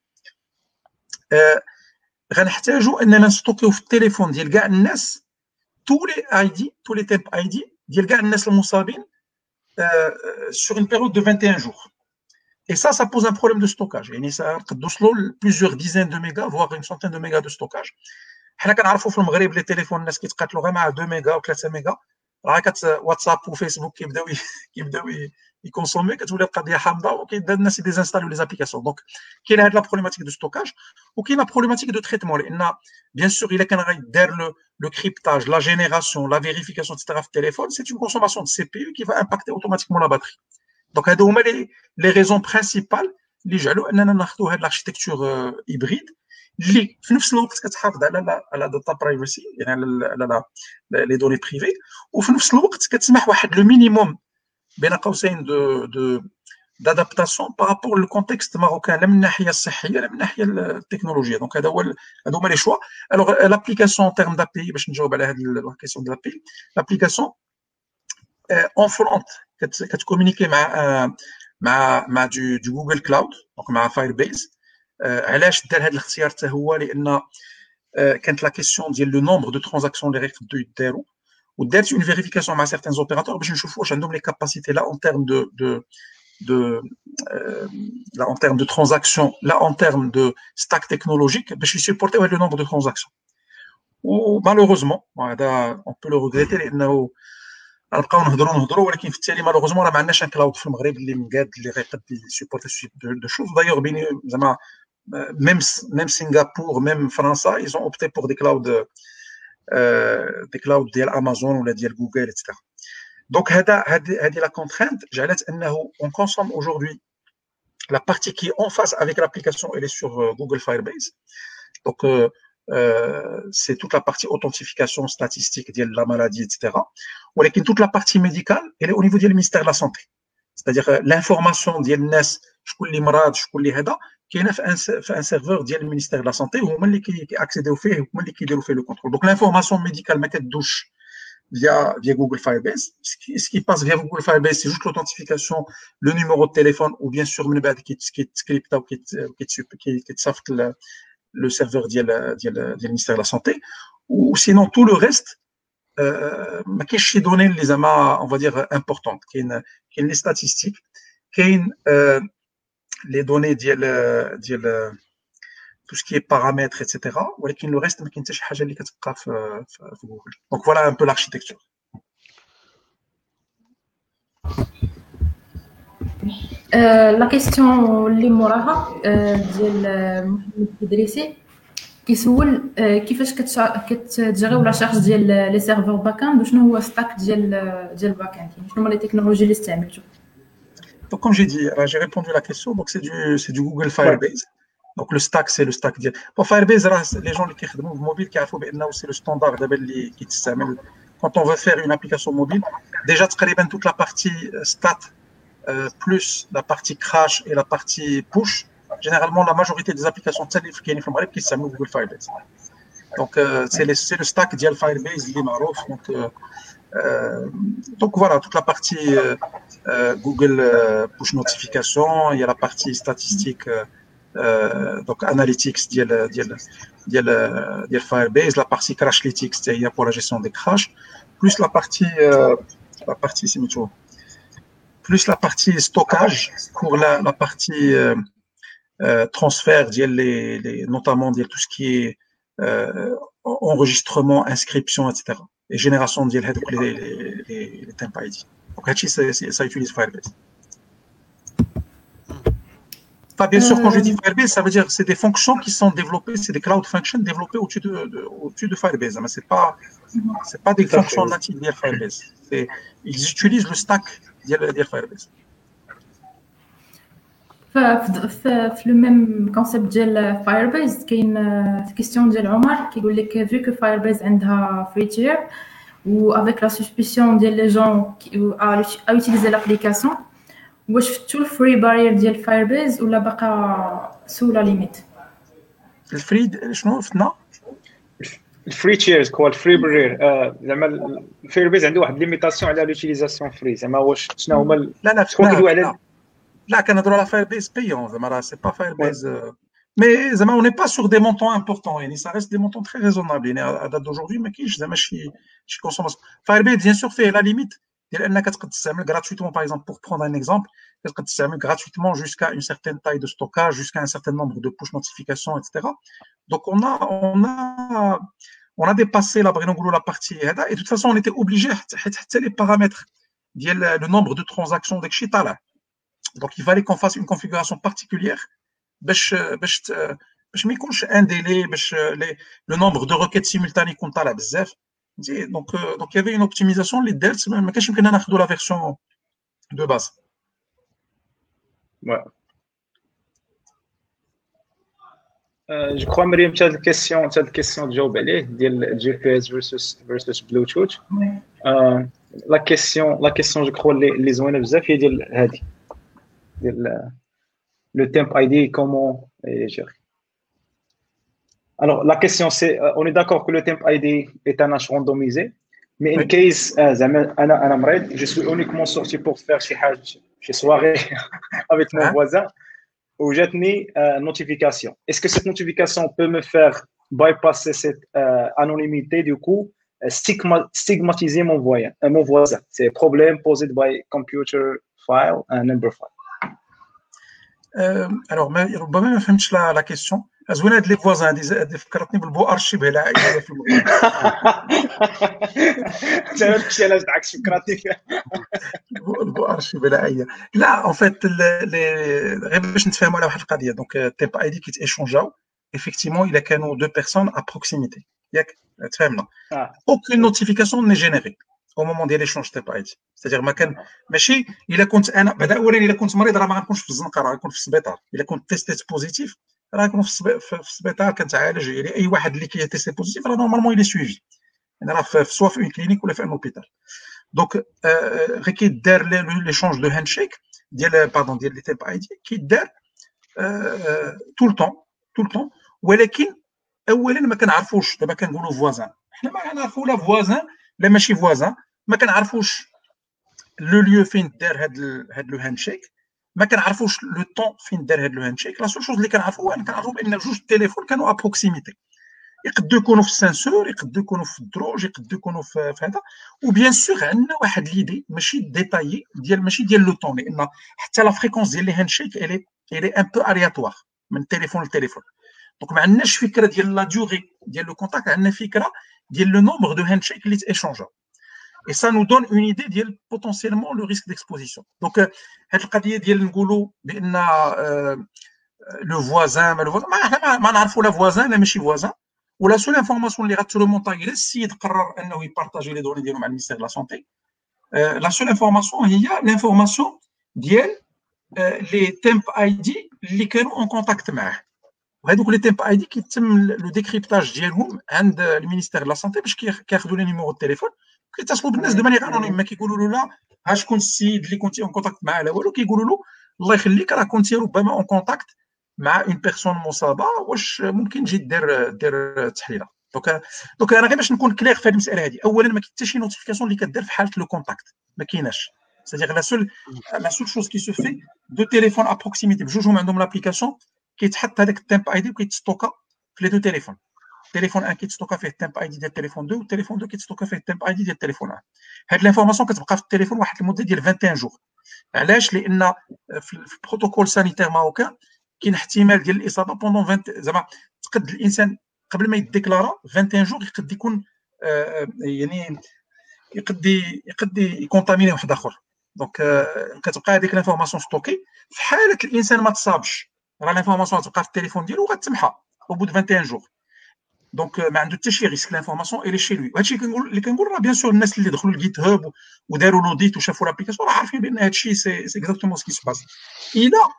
غنحتاجوا اننا نستوكيو في التليفون ديال كاع الناس تو لي اي دي تو لي تيب اي دي ديال كاع الناس المصابين sur une période de 21 jours. Et ça pose un problème de stockage. يعني قد وصلوا plusieurs dizaines de mégas voire une centaine de mégas de stockage. حنا كنعرفوا في المغرب لي تليفون الناس كيتقاتلوا غير مع 2 ميجا و 3 ميجا راه واتساب وفيسبوك كيبداو يكونسومي كتولي القضيه حامضه وكيبدا الناس يديزانستاليو لي زابليكاسيون. دونك كاينه هاد لا بروبليماتيك دو ستوكاج وكاينه بروبليماتيك دو تريتمون، لان بيان سور الا كان غيدار لو كريبتاج لا جينيراسيون لا فيريفيكاسيون اكسترا في التليفون سي اون كونسوماسيون دو سي بي يو كي فا امباكتي اوتوماتيكمون لا باتري. دونك هادو هما لي ريزون برينسيبال اللي جعلوا اننا ناخذوا هاد لاركتيكتور هيبريد اللي في نفس الوقت كتحافظ على داتا برايفسي، يعني على لي دوني بريفي، وفي نفس الوقت كتسمح واحد لو مينيموم بين قوسين دو d'adaptation par rapport au contexte marocain, لا من الناحيه الصحيه لا من الناحيه التكنولوجيه. دونك هادو هما لي شوا. الوغ لابليكاسيون ان تيرم دابي باش نجاوب على هاد الكيسيون ديال لابي، لابليكاسيون اون فرونت كتكومونيكي مع دو جوجل كلاود، دونك مع فاير بيز. علاش دار هذا الاختيار حتى هو؟ لان كانت لا كيسيون ديال لو نومبر دو ترانزاكسيون اللي غيقدروا يداروا، ودارت اون فيريفيكاسيون مع سيغتان اوبيراتور باش نشوفوا واش عندهم لي كاباسيتي لا اون تيرم là en termes de transactions, là en termes de stack technologique, باش يسupporter le nombre de transactions. ومالوغوزمون هذا on peut le regretter لانه غنبقاو نهضروا ولكن في التالي مالوغوزمون راه ما عندناش ان كلاود في المغرب اللي مقاد اللي غيقد يسupporter ce type de choses. D'ailleurs بين زعما même Singapour même فرنسا ils ont opté pour des clouds ديال امازون ولا ديال جوجل etc. Donc, la contrainte, on consomme aujourd'hui la partie qui est en face avec l'application, elle est sur Google Firebase. Donc, c'est toute la partie authentification statistique de la maladie, etc. Mais toute la partie médicale, elle est au niveau du ministère de la Santé. C'est-à-dire l'information de l'NS, je connais les malades, je connais les HEDA, qui est un serveur du ministère de la Santé, où on qui accède au fait, où on qui fait le contrôle. Donc, l'information médicale, ma tête douche, via Google Firebase. Ce qui passe via Google Firebase, c'est juste l'authentification, le numéro de téléphone, ou bien sûr, qui script ou qui saft le serveur du ministère de la Santé. Ou sinon, tout le reste, qu'est-ce qui donne les amas, on va dire, importantes, qui sont les statistiques, qui sont les données tout ce qui est paramètres, etc. ولكن le reste ما كاين حتى شي حاجه اللي كتبقى في جوجل. Donc voilà un peu l'architecture. لا كيسيون اللي موراها ديال محمد الدريسي كيسول كيفاش كتجريو لا شارج ديال لي سيرفور باكاند وشنو هو ستاك ديال الباكاند، يعني شنو هما لي تكنولوجي اللي استعملتو. Donc comme j'ai dit, j'ai répondu à la question, donc c'est du Google Firebase. Donc le stack c'est le stack ديال pour Firebase les gens اللي كيخدموا بالموبيل كيعرفوا بانه c'est le standard دابا اللي كيتستعمل quand on veut faire une application mobile. Déjà تقريبا toute la partie stat plus la partie crash et la partie push, généralement la majorité des applications اللي كاينين في المغرب كيستعملوا Google Firebase. Donc c'est le stack ديال Firebase اللي معروف. Donc voilà toute la partie Google push notification, il y a la partie statistique donc analytics ديال Firebase, la partie crashlytics c'est pour la gestion des crashs, plus la partie plus la partie stockage pour la partie transfert notamment tout ce qui est enregistrement, inscription, etc. et génération de les temp ID. Donc ça utilise Firebase. Bien sûr, quand je dis Firebase, ça veut dire que c'est des fonctions qui sont développées, c'est des cloud functions développées au-dessus de Firebase. Mais c'est pas des fonctions natives de Firebase. Ils utilisent le stack de Firebase. في لو ميم كونسيبت ديال فايربيز كاين كيستيون ديال عمر كيقول لك vu que Firebase عندها free tier ou avec la suspicion ديال لي جون à utiliser l'application, واش فتو الفري بارير ديال فايربيز ولا باقا سو لا ليميت؟ الفري شنو فتنا؟ الفري تيرز كوا الفري بارير زعما فايربيز عنده واحد ليميتاسيون على لوتيليزاسيون فري، زعما واش شنو هما شكون كيدوي على لا كنهضروا على Firebase payant, زعما سي با Firebase mais زعما on n'est pas sur des montants importants, يعني ça reste des montants très raisonnables. يعني à date d'aujourd'hui ما كاينش زعما شي consommation. Firebase bien sûr فيه la limite ديال انك تقدر تستعمل gratuitement par exemple, pour prendre un exemple, تقدر تستعمل gratuitement jusqu'à une certaine taille de stockage, jusqu'à un certain nombre de push notifications, etc. Donc on a dépassé la partie هذا, et de toute façon on était obligé حتى les paramètres le nombre de transactions داكشي طالع. Donc il fallait qu'on fasse une configuration particulière باش ما يكونش un délai باش le nombre de requêtes simultanées يكون طالع بزاف. Donc il y avait une optimisation اللي دارت ما كانش يمكننا ناخذوا la version de base. Ouais. Je crois Mariam tu as une question de جاوب عليه ديال GPS versus Bluetooth. La question je crois les زوينه بزاف هي ديال هذه ديال le temp ID comment gérer. Alors la question c'est on est d'accord que le temp ID est un hash randomisé mais in case انا مريض je suis uniquement sorti pour faire شي soirée avec mon voisin où j'atteins notification. Est-ce que cette notification peut me faire bypasser cette anonymité du coup stigmatiser mon voisin? C'est un problème posé by computer file and number file. Alors ربما ما فهمتش la question. زوين هاد لي فوازان هادي فكرتني بالبو ارشيف العائله في المغرب. انت ماشي علاش دعكش فكرتني البو ارشيف العائله. لا en fait غير باش نتفاهموا على واحد القضيه. دونك تيب اي دي كيت ايشونجاو effectivement الا كانوا دو بيرسون à proximité ياك تفهمنا. aucune notification n'est générée au moment ديال l'échange تيب اي دي. c'est-à-dire ما كان ماشي الا كنت انا بعدا اولا الا كنت مريض راه ما غنكونش في الزنقه راه غنكون في السبيطار. الا كنت تيستيت بوزيتيف راه غنكون في السبيطار كنتعالج. يعني اي واحد اللي كيتيستي بوزيتيف راه نورمالمون الى سويفي يعني راه سوا في اون كلينيك ولا في ان هوبيتال. دونك غير كيدار ليشونج دو هاندشيك ديال باردون ديال لي تيب اي دي كيدار طول طون ولكن اولا ما كنعرفوش. دابا كنقولوا فوازان حنا ما كنعرفوا لا فوازان لا ماشي فوازان ما كنعرفوش لو ليو فين دار هاد لو هاندشيك ما كنعرفوش لو طون فين دار هاد لو هاندشيك. لا سول شوز اللي كنعرفوها كنعرفوا بان جوج التليفون كانوا ا بروكسيميتي. يقدروا يكونوا في السنسور يقدروا يكونوا في الدروج يقدروا يكونوا في هذا. وبيان سور عندنا واحد ليدي ماشي ديتايي ديال ماشي ديال لو طون لان حتى لا فريكونس ديال لي هاندشيك الي ان بو ارياتوار من تليفون لتليفون. دونك ما عندناش فكره ديال لا ديوري ديال لو كونتاكت. عندنا فكره ديال لو نومبر دو هاندشيك اللي تيشونجا et ça nous donne une idée ديال potentiellement le risque d'exposition. donc هاد القضيه ديال نقولوا بان لو فوازان ما نعرفوا لا فوازان لا ماشي فوازان ولا سول انفورماسيون اللي غتريمونطا الى السيد قرر انه يبارطاجي لي دوني ديالو مع المينيستير دو لا سونتي. لا سول انفورماسيون هي لانفورماسيون ديال لي تيمب اي دي اللي كانوا اون كونتاكت معاه. وهذوك لي تيمب اي دي كيتم لو ديكريبتاج ديالهم عند المينيستير دو لا سونتي باش كياخذوا لي نيميرو التليفون كيتصلوا بالناس دو مانيير انونيم. ما كيقولوا له لا ها شكون السيد اللي كنتي اون كونتاكت معاه لا والو. كيقولوا له الله يخليك راه كنتي ربما اون كونتاكت مع اون بيرسون مصابه واش ممكن تجي دير تحليله. دونك انا غير باش نكون كلير في هذه المساله هذه. اولا ما كاين حتى شي نوتيفيكاسيون اللي كدير في حاله لو كونتاكت ما كايناش. c'est-à-dire la seule chose qui se fait de téléphone à proximité بجوجهم عندهم لابليكاسيون كيتحط هذاك التيمب اي دي وكيتستوكا في لي دو تليفون. تليفون 1 كيتستوكا فيه التيمب اي دي ديال التليفون 2 والتليفون 2 كيتستوكا فيه التيمب اي دي ديال التليفون 1. هاد لانفورماسيون كتبقى في التليفون واحد المده ديال 21 جور. علاش؟ لان في البروتوكول سانيتير ماروكان كاين احتمال ديال الاصابه بوندون 20 زعما تقد الانسان قبل ما يديكلارا 21 جور يقد يكون يعني يقد يكونتاميني واحد اخر. دونك كتبقى هذيك لانفورماسيون ستوكي في حاله الانسان ما تصابش راه لانفورماسيون غتبقى في التليفون ديالو وغتمحى او بو 21 جور. دونك ما عنده حتى شي ريسك. لانفورماسيون الي شي لوي. وهادشي اللي كنقول راه بيان سور الناس اللي دخلوا الجيت هاب وداروا لوديت وشافوا لابليكاسيون راه عارفين بان هادشي سي اكزاكتومون سكي سو باس. الا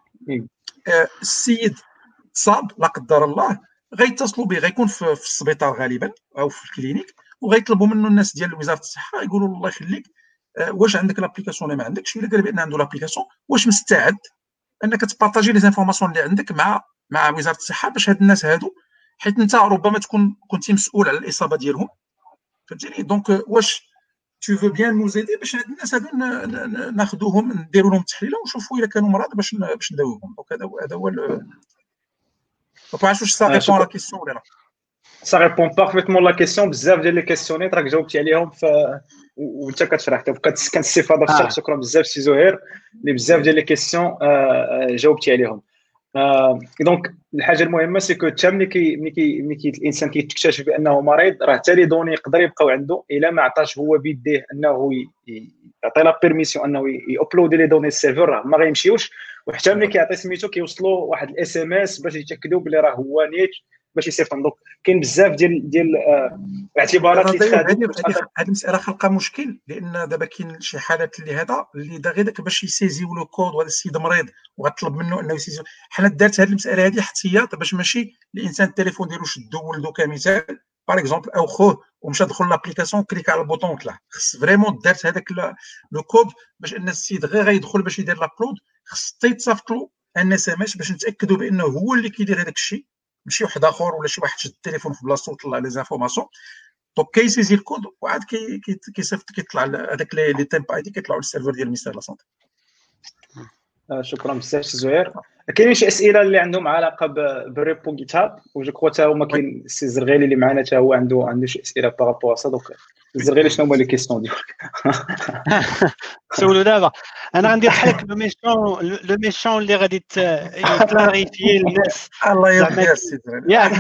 السيد تصاب لا قدر الله غيتصلوا به غيكون في السبيطار غالبا او في الكلينيك وغيطلبوا منه الناس ديال وزاره الصحه يقولوا له الله يخليك واش عندك لابليكاسيون ولا ما عندكش. الا قال بان عنده لابليكاسيون واش مستعد انك تبارطاجي لي زانفورماسيون اللي عندك مع وزاره الصحه باش هاد الناس هادو حيت انت ربما تكون كنتي مسؤول على الاصابه ديالهم فهمتيني. دونك واش tu veux bien nous aider باش هاد الناس هادو ناخذوهم نديروا لهم تحليله ونشوفوا الا كانوا مرضى باش نداويوهم. دونك هذا هو دونك واش سا ريبون لا كيسيون ولا لا؟ Ça répond parfaitement la question. بزاف ديال لي كيسيونيت راك جاوبتي عليهم وانت كتشرح. كنستفاد اكثر. شكرا بزاف سي زهير اللي بزاف ديال لي كيسيون جاوبتي عليهم. دونك الحاجه المهمه سي كو حتى ملي الانسان كيكتشف بانه مريض، راه حتى لي دوني يقدر يبقاو عنده الا ما عطاش هو بيديه انه يعطي لا بيرميسيون انه يابلودي لي دوني السيرفر، راه ما غيمشيوش. وحتى ملي كيعطي سميتو كيوصلوا واحد الاس ام اس باش يتاكدوا بلي راه هو نيت باش يصيفط. دونك كاين بزاف ديال الاعتبارات اللي تخادوا. هذه المساله خلقها مشكل، لان دابا كاين شي حالات اللي هذا اللي دا غير داك باش يسيزيو لو كود، وهذا السيد مريض وغطلب منه انه يسيزيو. حنا دارت هذه المساله هذه احتياط باش ماشي الانسان التليفون ديالو شدو ولدو كمثال باغ اكزومبل او خوه ومشى دخل لابليكاسيون كليك على البوطون وطلع. خص فريمون دارت هذاك لو كود باش ان السيد غير غيدخل باش يدير لابلود، خص يتصيفط له ان اس ام اس باش نتاكدوا بانه هو اللي كيدير هذاك الشيء، ماشي واحد اخر ولا شي واحد شد التليفون في بلاصتو وطلع لي زانفورماسيون. دونك كيسيزي الكود وعاد كيصيفط كيطلع هذاك لي تيمب اي دي كيطلعوا للسيرفر ديال المينستير لا سونتي. شكرا بزاف زهير. كاينين شي اسئله اللي عندهم علاقه بالريبو جيت هاب، وجو كوا حتى هما كاين السي الزرغيلي اللي معنا حتى هو عنده شي اسئله بارابور سا. دونك الزرغيلي شنو هما لي كيسيون ديالك؟ سولو دابا انا غندير بحالك لو ميشون اللي غادي يكلاريفي الناس. الله يرضي السيد ياك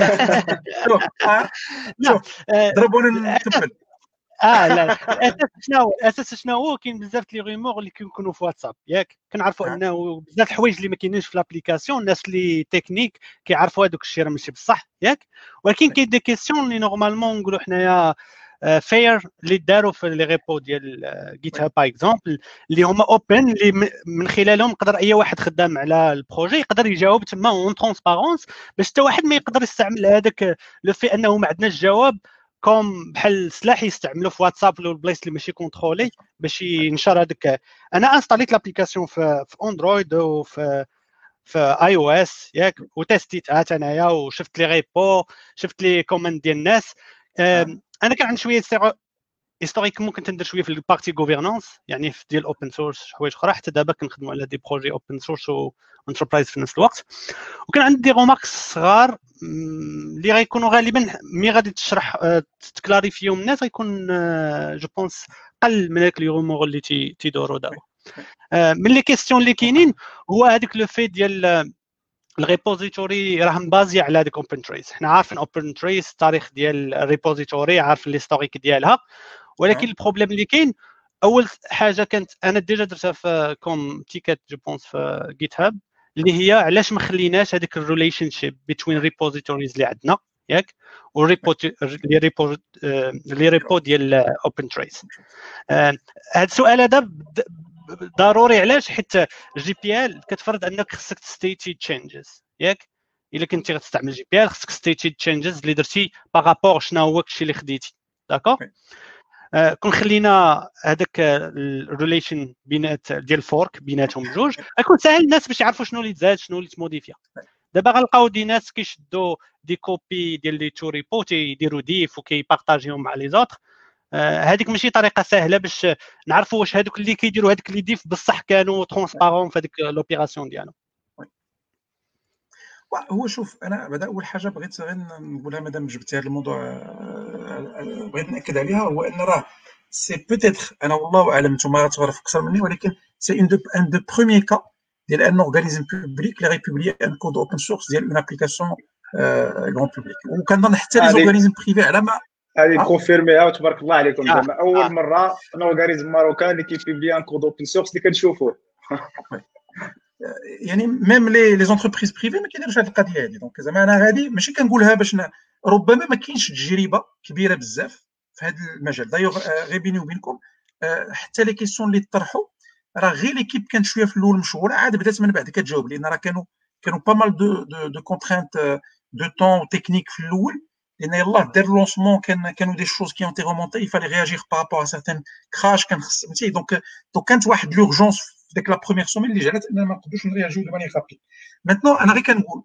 شوف ضربونا نتبل. لا الاساس شنو هو؟ كاين بزاف لي ريمور اللي كيكونوا في واتساب، ياك كنعرفوا انه بزاف الحوايج اللي ما كاينينش في لابليكاسيون، الناس اللي تكنيك كيعرفوا هذوك الشيء راه ماشي بصح، ياك. ولكن كاين دي كيسيون اللي نورمالمون نقولوا حنايا فير اللي داروا في لي ريبو ديال جيت هاب باغ اكزومبل، اللي هما اوبن، اللي من خلالهم يقدر اي واحد خدام على البروجي يقدر يجاوب تما اون ترونسبارونس، باش حتى واحد ما يقدر يستعمل هذاك لو في انه ما عندناش جواب كوم بحال سلاح يستعملوا في واتساب ولا البلايص اللي ماشي كونترولي باش ينشر هذاك. انا انستاليت لابليكاسيون في اندرويد وفي اي او اس، ياك، وتستيتها انايا وشفت لي ريبو، شفت لي كوماند ديال الناس. انا كان عندي شويه هيستوريك، ممكن ندير شويه في البارتي غوفرنانس، يعني في ديال اوبن سورس حوايج اخرى. حتى دابا كنخدموا على دي بروجي اوبن سورس وانتربرايز في نفس الوقت. وكان عندي دي روماركس صغار اللي غيكونوا غالبا مي غادي تشرح تكلاريفيهم الناس غيكون جو بونس قل من هذاك لي رومور اللي تيدوروا دابا. من لي كيسيون اللي كاينين هو هذاك لو في ديال الريبوزيتوري راه مبازي على هذيك اوبن تريس. حنا عارفين اوبن تريس التاريخ ديال الريبوزيتوري، عارفين ليستوريك ديالها، ولكن البروبليم اللي كاين اول حاجه كانت انا ديجا درتها في كوم تيكت جو بونس في جيت هاب، اللي هي علاش ما خليناش هذيك الريليشن شيب بين ريبوزيتوريز اللي عندنا، ياك، والريبو لي ريبو ديال اوبن تريس. هذا السؤال هذا ضروري. علاش؟ حيت جي بي ال كتفرض انك خصك تستيتي تشينجز، ياك. الا كنتي غتستعمل جي بي ال خصك تستيتي تشينجز اللي درتي باغابور شنو هو الشيء اللي خديتي، داكور. كون خلينا هذاك الريليشن بينات ديال الفورك بيناتهم بجوج، غيكون ساهل الناس باش يعرفوا شنو اللي تزاد شنو اللي تموديفيا. دابا غنلقاو دي ناس كيشدوا دي كوبي ديال لي تو ريبو يديروا ديف وكيبارطاجيهم مع لي زوطر. هذيك ماشي طريقه سهله باش نعرفوا واش هذوك اللي كيديروا هذوك اللي ديف بصح كانوا ترونسبارون في هذيك لوبيراسيون ديالهم. هو شوف، انا بعدا اول حاجه بغيت غير نقولها مادام جبتي هذا الموضوع، بغيت ناكد عليها، هو ان راه سي بوتيتر، انا والله اعلم نتوما غتعرف اكثر مني، ولكن سي ان دو بروميير كا ديال ان اورغانيزم بوبليك اللي غيبوبلي ان كود اوبن سورس ديال اون ابليكاسيون غون بوبليك. وكنظن حتى لي اورغانيزم بريفي على ما هذه كونفيرميها وتبارك الله عليكم. زعما اول مره ان اورغانيزم ماروكان اللي كيبوبلي ان كود اوبن سورس اللي كنشوفوه. يعني ميم لي زونتربريز بريفي ما كيديروش هذه القضيه هذه. دونك زعما انا غادي ماشي كنقولها باش ربما ما كاينش تجربه كبيره بزاف في هذا المجال. دايوغ غير بيني وبينكم حتى لي كيسيون اللي طرحوا راه غير ليكيب كانت شويه في الاول مشغوله، عاد بدات من بعد كتجاوب، لان راه كانوا با مال دو كونترينت دو طون تكنيك في الاول، لان يلاه دار لونسمون كانوا دي شوز كي اونتي رومونتي يفالي رياجير بارابور ا سيغتان كراش كان خص فهمتي. دونك كانت واحد لورجونس في ديك لا بروميير سومين اللي جعلت اننا ما نقدروش نرياجيو دو مانيير رابيد. ماتنون انا غير كنقول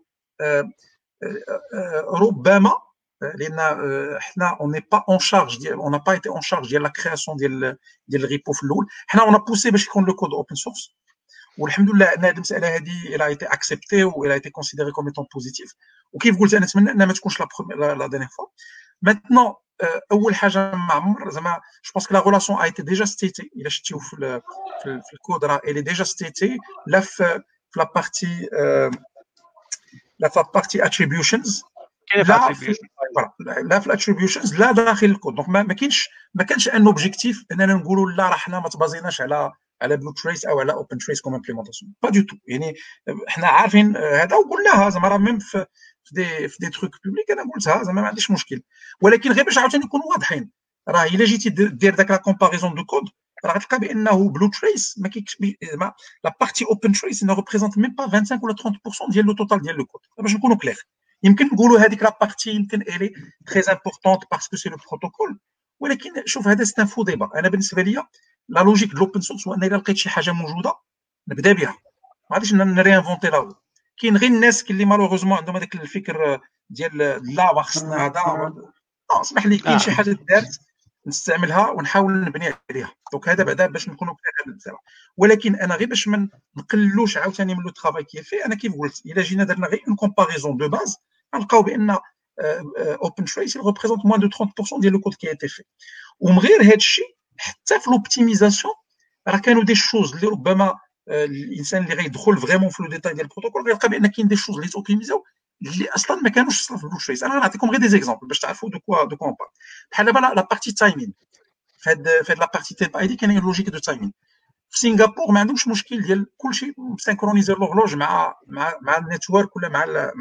ربما لان حنا اون ني با اون شارج ديال اون با ايتي اون شارج ديال لا كرياسيون ديال الريبو في الاول. حنا اون بوسي باش يكون لو كود اوبن سورس، والحمد لله ان هذه المساله هذه الى ايتي اكسبتي و الى ايتي كونسيديري كوم ايتون بوزيتيف. وكيف قلت انا نتمنى انها ما تكونش لا ديرنيير فوا. ماتنون اول حاجه مع عمر زعما جو بونس كو لا ريلاسيون ايتي ديجا ستيتي، الى شفتيو في الكود راه الي ديجا ستيتي لا في لا بارتي لا في بارتي اتريبيوشنز، كاين لا في لا في الاتريبيوشنز لا داخل الكود. دونك ما كانش ان اوبجيكتيف اننا نقولوا لا راه حنا ما تبازيناش على بلو تريس او على اوبن تريس كوم امبليمونطاسيون، با دو تو. يعني حنا عارفين هذا وقلناها زعما راه ميم في دي تروك بوبليك انا قلتها زعما ما عنديش مشكل، ولكن غير باش عاوتاني نكونوا واضحين، راه الا جيتي دير داك لا كومباريزون دو كود راه غتلقى بانه بلو تريس ما كاينش زعما لا بارتي اوبن تريس ne représente même pas 25 ولا 30% ديال لو توتال ديال لو كود. باش نكونوا كلير، يمكن نقولوا هذيك لا بارتي يمكن الي تري امبورطونت باسكو سي لو بروتوكول، ولكن شوف هذا سي ان فو ديبا. انا بالنسبه لي لا لوجيك دو لوبن سورس هو ان الا لقيت شي حاجه موجوده نبدا بها، ما غاديش نرينفونتي لا. كاين غير الناس اللي مالوغوزمون عندهم هذاك الفكر ديال لا خصنا هذا، اسمح لي كاين شي حاجه دارت نستعملها ونحاول نبني عليها. دونك هذا بعدا باش نكونوا كلير، ولكن انا غير باش ما نقلوش عاوتاني من لو ترافاي كيفي. انا كيف قلت الا جينا درنا غير اون كومباريزون دو باز غنلقاو بان اوبن تريس ريبريزونت موان دو 30% ديال لو كود كي ايتي في. ومن غير هذا الشيء حتى في لوبتيميزاسيون راه كانوا دي شوز اللي ربما الانسان اللي غيدخل فريمون في لو ديتاي ديال البروتوكول غيلقى بان كاين دي شوز اللي توبتيميزاو اللي اصلا ما كانوش في بلو تريس. انا غنعطيكم غير دي زيكزامبل باش تعرفوا دو كوا اون بار. بحال دابا لا بارتي تايمين في هاد لا بارتي تيب اي دي كاين لوجيك دو تايمين. في سنغافور ما عندهمش مشكل ديال كلشي مسينكرونيزي لوغلوج مع النيتورك ولا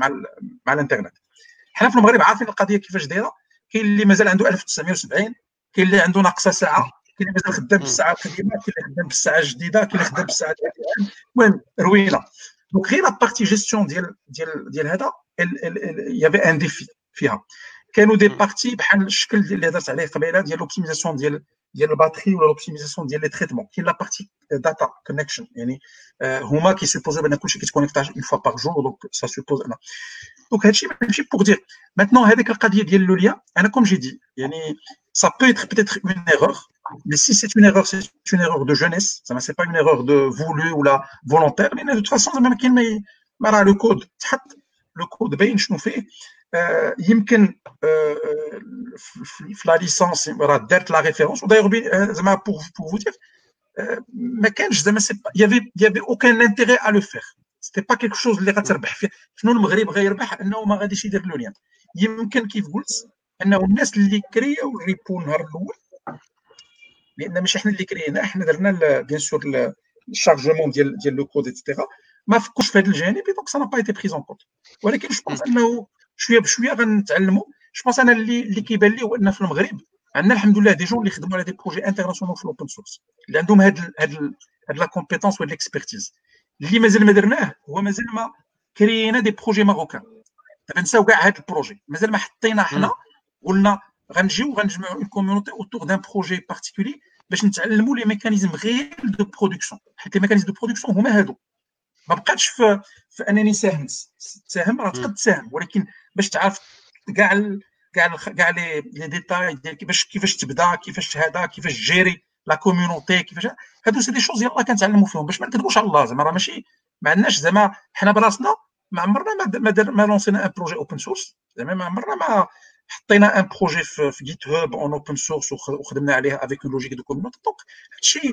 مع الانترنت. حنا في المغرب عارفين القضيه كيفاش دايره. كاين اللي مازال عنده 1970، كاين اللي عنده ناقصه ساعه، كاين اللي مازال خدام بالساعه القديمه، كاين اللي خدام بالساعه الجديده، كاين اللي خدام بالساعه الجديده. المهم روينه. دونك غير لا بارتي جيستيون ديال هذا يافي ان ديفي فيها. كانوا دي بارتي بحال الشكل اللي هضرت عليه قبيله ديال لوبتيميزاسيون ديال الباتري ولا لوبتيميزاسيون ديال لي تريتمون. كاين لا بارتي داتا كونيكشن، يعني هما كيسيبوزيو بان كلشي كيتكونيكتا اون فوا باغ جور. دونك سا سوبوز انا دونك هادشي ماشي بوغ دير ماتنون هذيك القضيه ديال لو ليان. انا كوم جي دي يعني ça peut être peut-être une erreur, mais si c'est une erreur, c'est une erreur de jeunesse, ça c'est pas une erreur de voulu ou la volontaire. Mais de toute façon زعما كاين ما راه لو كود تحط لو كود باين شنو فيه. يمكن في لا ليسانس راه دارت لا ريفيرونس. ودايوغ زعما بور فو دير ما كانش زعما يافي اوكان انتيغي ا لو فير. سيتي با كيلكو شوز اللي غتربح فيه. شنو المغرب غيربح؟ انه ما غاديش يدير لو ليان. يمكن كيف قلت انه الناس اللي كرياو الريبو النهار الاول، لان ماشي حنا اللي كرينا، حنا درنا بيان سور الشارجمون ديال لو كود ايتترا، ما فكوش في هذا الجانب. دونك سا نا با ايتي بريزون كونت. ولكن جو بونس انه شويه بشويه غنتعلموا. جو بونس انا اللي كيبان لي هو ان في المغرب عندنا الحمد لله دي جون اللي خدموا على دي بروجي انترناسيونال في الاوبن سورس، اللي عندهم هاد لا كومبيتونس ولا الاكسبرتيز. اللي مازال ما درناه هو مازال ما كرينا دي بروجي ماروكان. دابا نساو كاع هاد البروجي، مازال ما حطينا حنا قلنا غنجيو غنجمعوا اون كوميونيتي اوتور دان بروجي بارتيكولي باش نتعلموا لي ميكانيزم غير دو برودكسيون. حيت لي ميكانيزم دو برودكسيون هما هادو. ما بقاتش في انني تساهم راه تقد تساهم، ولكن باش تعرف كاع لي ديتاي ديال كيفاش تبدا، كيفاش هذا، كيفاش تجيري لا كوميونيتي، كيفاش هادو سي دي شوز يلاه كنتعلموا فيهم باش ما نكذبوش على الله. زعما راه ماشي ما عندناش زعما حنا براسنا ما عمرنا ما لونسينا ان بروجي اوبن سورس. زعما ما عمرنا ما حطينا ان بروجي في جيت هاب اون اوبن سورس وخدمنا عليه افيك لوجيك دو كوميونيتي. دونك هادشي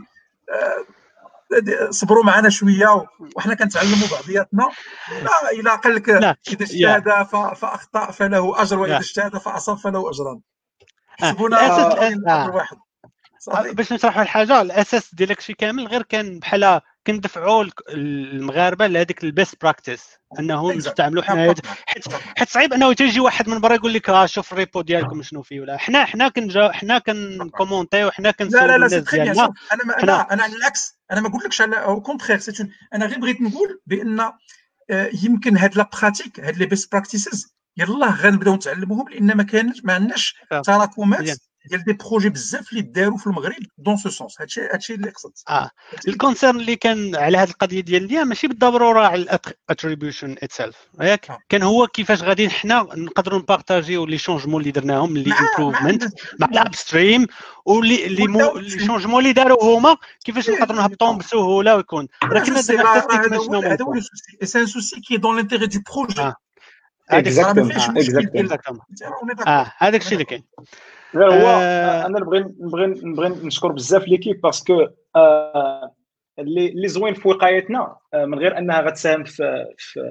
صبروا معنا شويه وحنا كنتعلموا بعضياتنا. لا الا قال لك اذا اجتهد فاخطا فله اجر، واذا اجتهد فاصاب فله اجران. حسبونا اجر واحد صافي. باش نشرحوا الحاجه، الاساس ديال داكشي كامل غير كان بحال كندفعوا المغاربه لهذيك البيست براكتيس انهم نستعملوا حنا. حيت صعيب انه تيجي واحد من برا يقول لك شوف الريبو ديالكم شنو فيه. ولا حنا كنكومونتيو، حنا كنسولوا الناس ديالنا. انا على العكس، انا ما قلتلكش على او كونترير. انا غير بغيت نقول بان يمكن هاد لا براتيك، هاد لي بيست براكتيسز يلاه غنبداو نتعلموهم، لان ما عندناش تراكمات ديال دي بروجي بزاف اللي داروا في المغرب دون سو سونس. هادشي اللي قصدت. الكونسيرن اللي كان على هذه القضيه ديال اليوم ماشي بالضروره على الاتريبيوشن اتسيلف، ياك كان هو كيفاش غادي حنا نقدروا نبارطاجيو لي شونجمون اللي درناهم، لي امبروفمنت مع الاب ستريم، واللي شونجمون اللي داروا هما كيفاش نقدروا نهبطوهم بسهوله ويكون. راه كنا درنا حتى ستيك ماشي نو هذا هو لو سوسي، سي ان سوسي كي دون لانتيغي دو بروجي. هذاك الشيء اللي كاين. هو انا نبغي نشكر بزاف ليكيب باسكو اللي زوين في وقايتنا من غير انها غتساهم في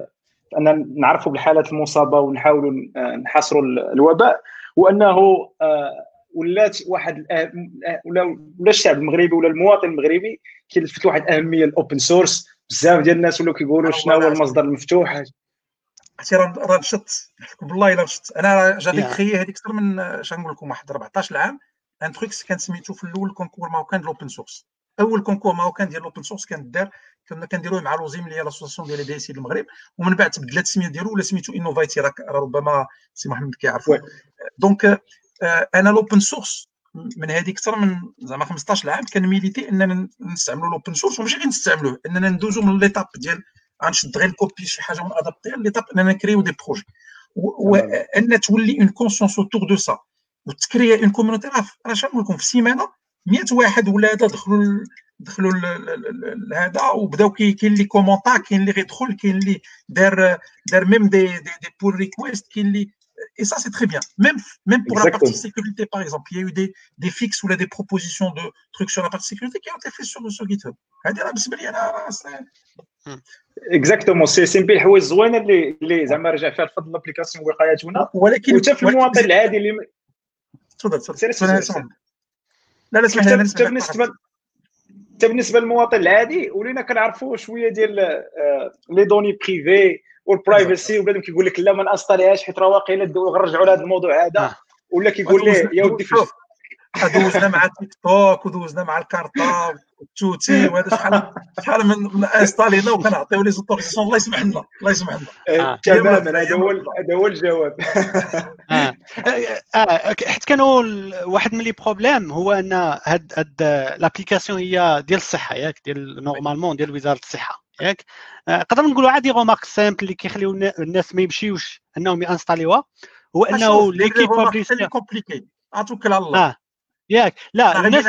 ان نعرفوا بالحالات المصابه ونحاولوا نحاصروا الوباء، وانه ولات واحد ولا الشعب المغربي ولا المواطن المغربي كيلفت واحد الاهميه الاوبن سورس. بزاف ديال الناس ولاو كيقولوا شنو هو المصدر المفتوح. عرفتي راه نشط بالله الا نشط. انا جافي كريي هذيك اكثر من اش نقول لكم واحد 14 عام ان تروك كان سميتو في الاول كونكور ماروكان ديال الاوبن سورس. اول كونكور ماروكان ديال الاوبن سورس كان دار، كنا كنديروه مع لوزيم اللي هي لاسوسياسيون ديال دي سي المغرب، ومن بعد تبدلت السميه ديالو ولا سميتو انوفايتي. راه ربما سي محمد كيعرفوا. دونك انا الاوبن سورس من هذيك اكثر من زعما 15 عام كان ميليتي اننا نستعملوا الاوبن سورس، وماشي غير نستعملوه، اننا ندوزو من ليتاب ديال غنشد غير الكوبي شي حاجه ونادابتي ليتاب اننا نكريو دي بروجي، وان تولي اون كونسيونس اوتور دو سا وتكريا اون كوميونيتي. راه شنو نقول لكم، في سيمانه 100 واحد ولا هذا دخلوا هذا وبداو كاين اللي كومونطا، كاين اللي غيدخل، كاين اللي دار ميم دي بول ريكويست، كاين اللي et ça c'est très bien. Même pour la partie sécurité par exemple, il y a eu des fixes ou des propositions de trucs sur la partie sécurité qui ont été faits sur GitHub. هذه راه بالنسبه لي انا اكزاكتومون سي بي الحوايج زوينه اللي زعما رجع فيها الفضل لابليكاسيون وقايتنا. ولكن وحتى في المواطن العادي اللي تفضل. لا اسمح لي، حتى بالنسبه للمواطن العادي ولينا كنعرفوا شويه ديال لي دوني بريفي والبرايفسي، وبنادم كيقول لك لا ما نانستاليهاش حيت راه واقيلا غنرجعوا لهذا الموضوع هذا، ولا كيقول لي يا ودي دوزنا مع تيك توك ودوزنا مع الكارطه والتوتي وهذا شحال من انستالينا وكنعطيو لي زوتوريزاسيون. الله يسمح لنا تماما. هذا هو الجواب. حيت كانوا واحد من لي بروبليم هو ان هاد لابليكاسيون هي ديال الصحه ياك، ديال نورمالمون ديال وزاره الصحه ياك. نقدر نقولوا عادي غومارك سامبل اللي كيخليو الناس ما يمشيوش انهم يانستاليوها، هو انه ليكيب بابليسيتي كومبليكي اتوكل على الله ياك. لا الناس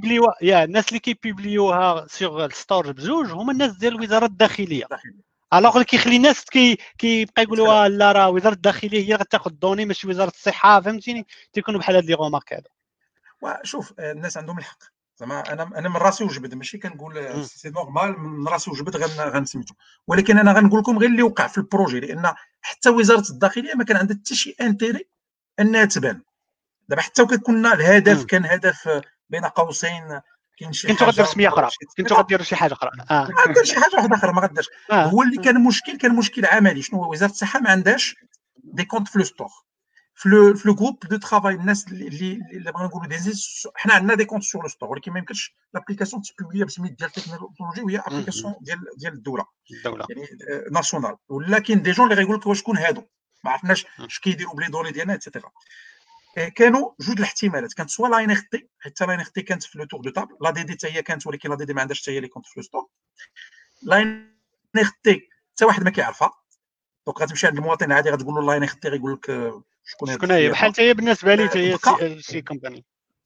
اللي كيبيبليوها سيغ الستور بجوج هما الناس ديال وزاره الداخليه. الوغ اللي كيخلي الناس كيبقى يقولوا لا راه وزاره الداخليه هي غتاخذ الدوني ماشي وزاره الصحه، فهمتيني؟ تيكونوا بحال هاد لي غومارك هادو. وشوف الناس عندهم الحق زعما. انا من راسي وجبد، ماشي كنقول سي نورمال من راسي وجبد غنسميتو، ولكن انا غنقول لكم غير اللي وقع في البروجي، لان حتى وزاره الداخليه ما كان عندها حتى شي انتيري انها تبان. دابا حتى كنا الهدف كان هدف بين قوسين، كاين شي كنتو غديروا سميه اخرى، كنتو غديروا شي حاجه اخرى، غدير شي حاجه واحده اخرى ما غداش. هو اللي كان مشكل عملي. شنو هو؟ وزاره الصحه ما عندهاش دي كونت في لو ستور، في لو جروب دو ترافاي. الناس اللي بغا نقولوا حنا عندنا دي كونت سور لو ستور، ولكن ما يمكنش لابليكاسيون تبوبليا بسميت ديال التكنولوجي وهي ابليكاسيون ديال الدوله يعني ناسيونال. ولكن دي جون اللي غيقول لك واش شكون هادو، ما عرفناش اش كيديروا بلي دوني ديالنا ايتترا. كانوا جوج الاحتمالات، كانت سوا لا ان ار تي، حتى لا ان ار تي كانت في لو تور دو تابل، لا دي دي حتى هي كانت، ولكن لا دي دي ما عندهاش حتى هي لي كونت في لو ستور. لا ان ار تي حتى واحد ما كيعرفها، دونك غتمشي عند المواطن العادي غتقول له لا ان ار تي غيقول لك شكون هي. بحال حتى هي بالنسبه لي حتى هي شي كومباني،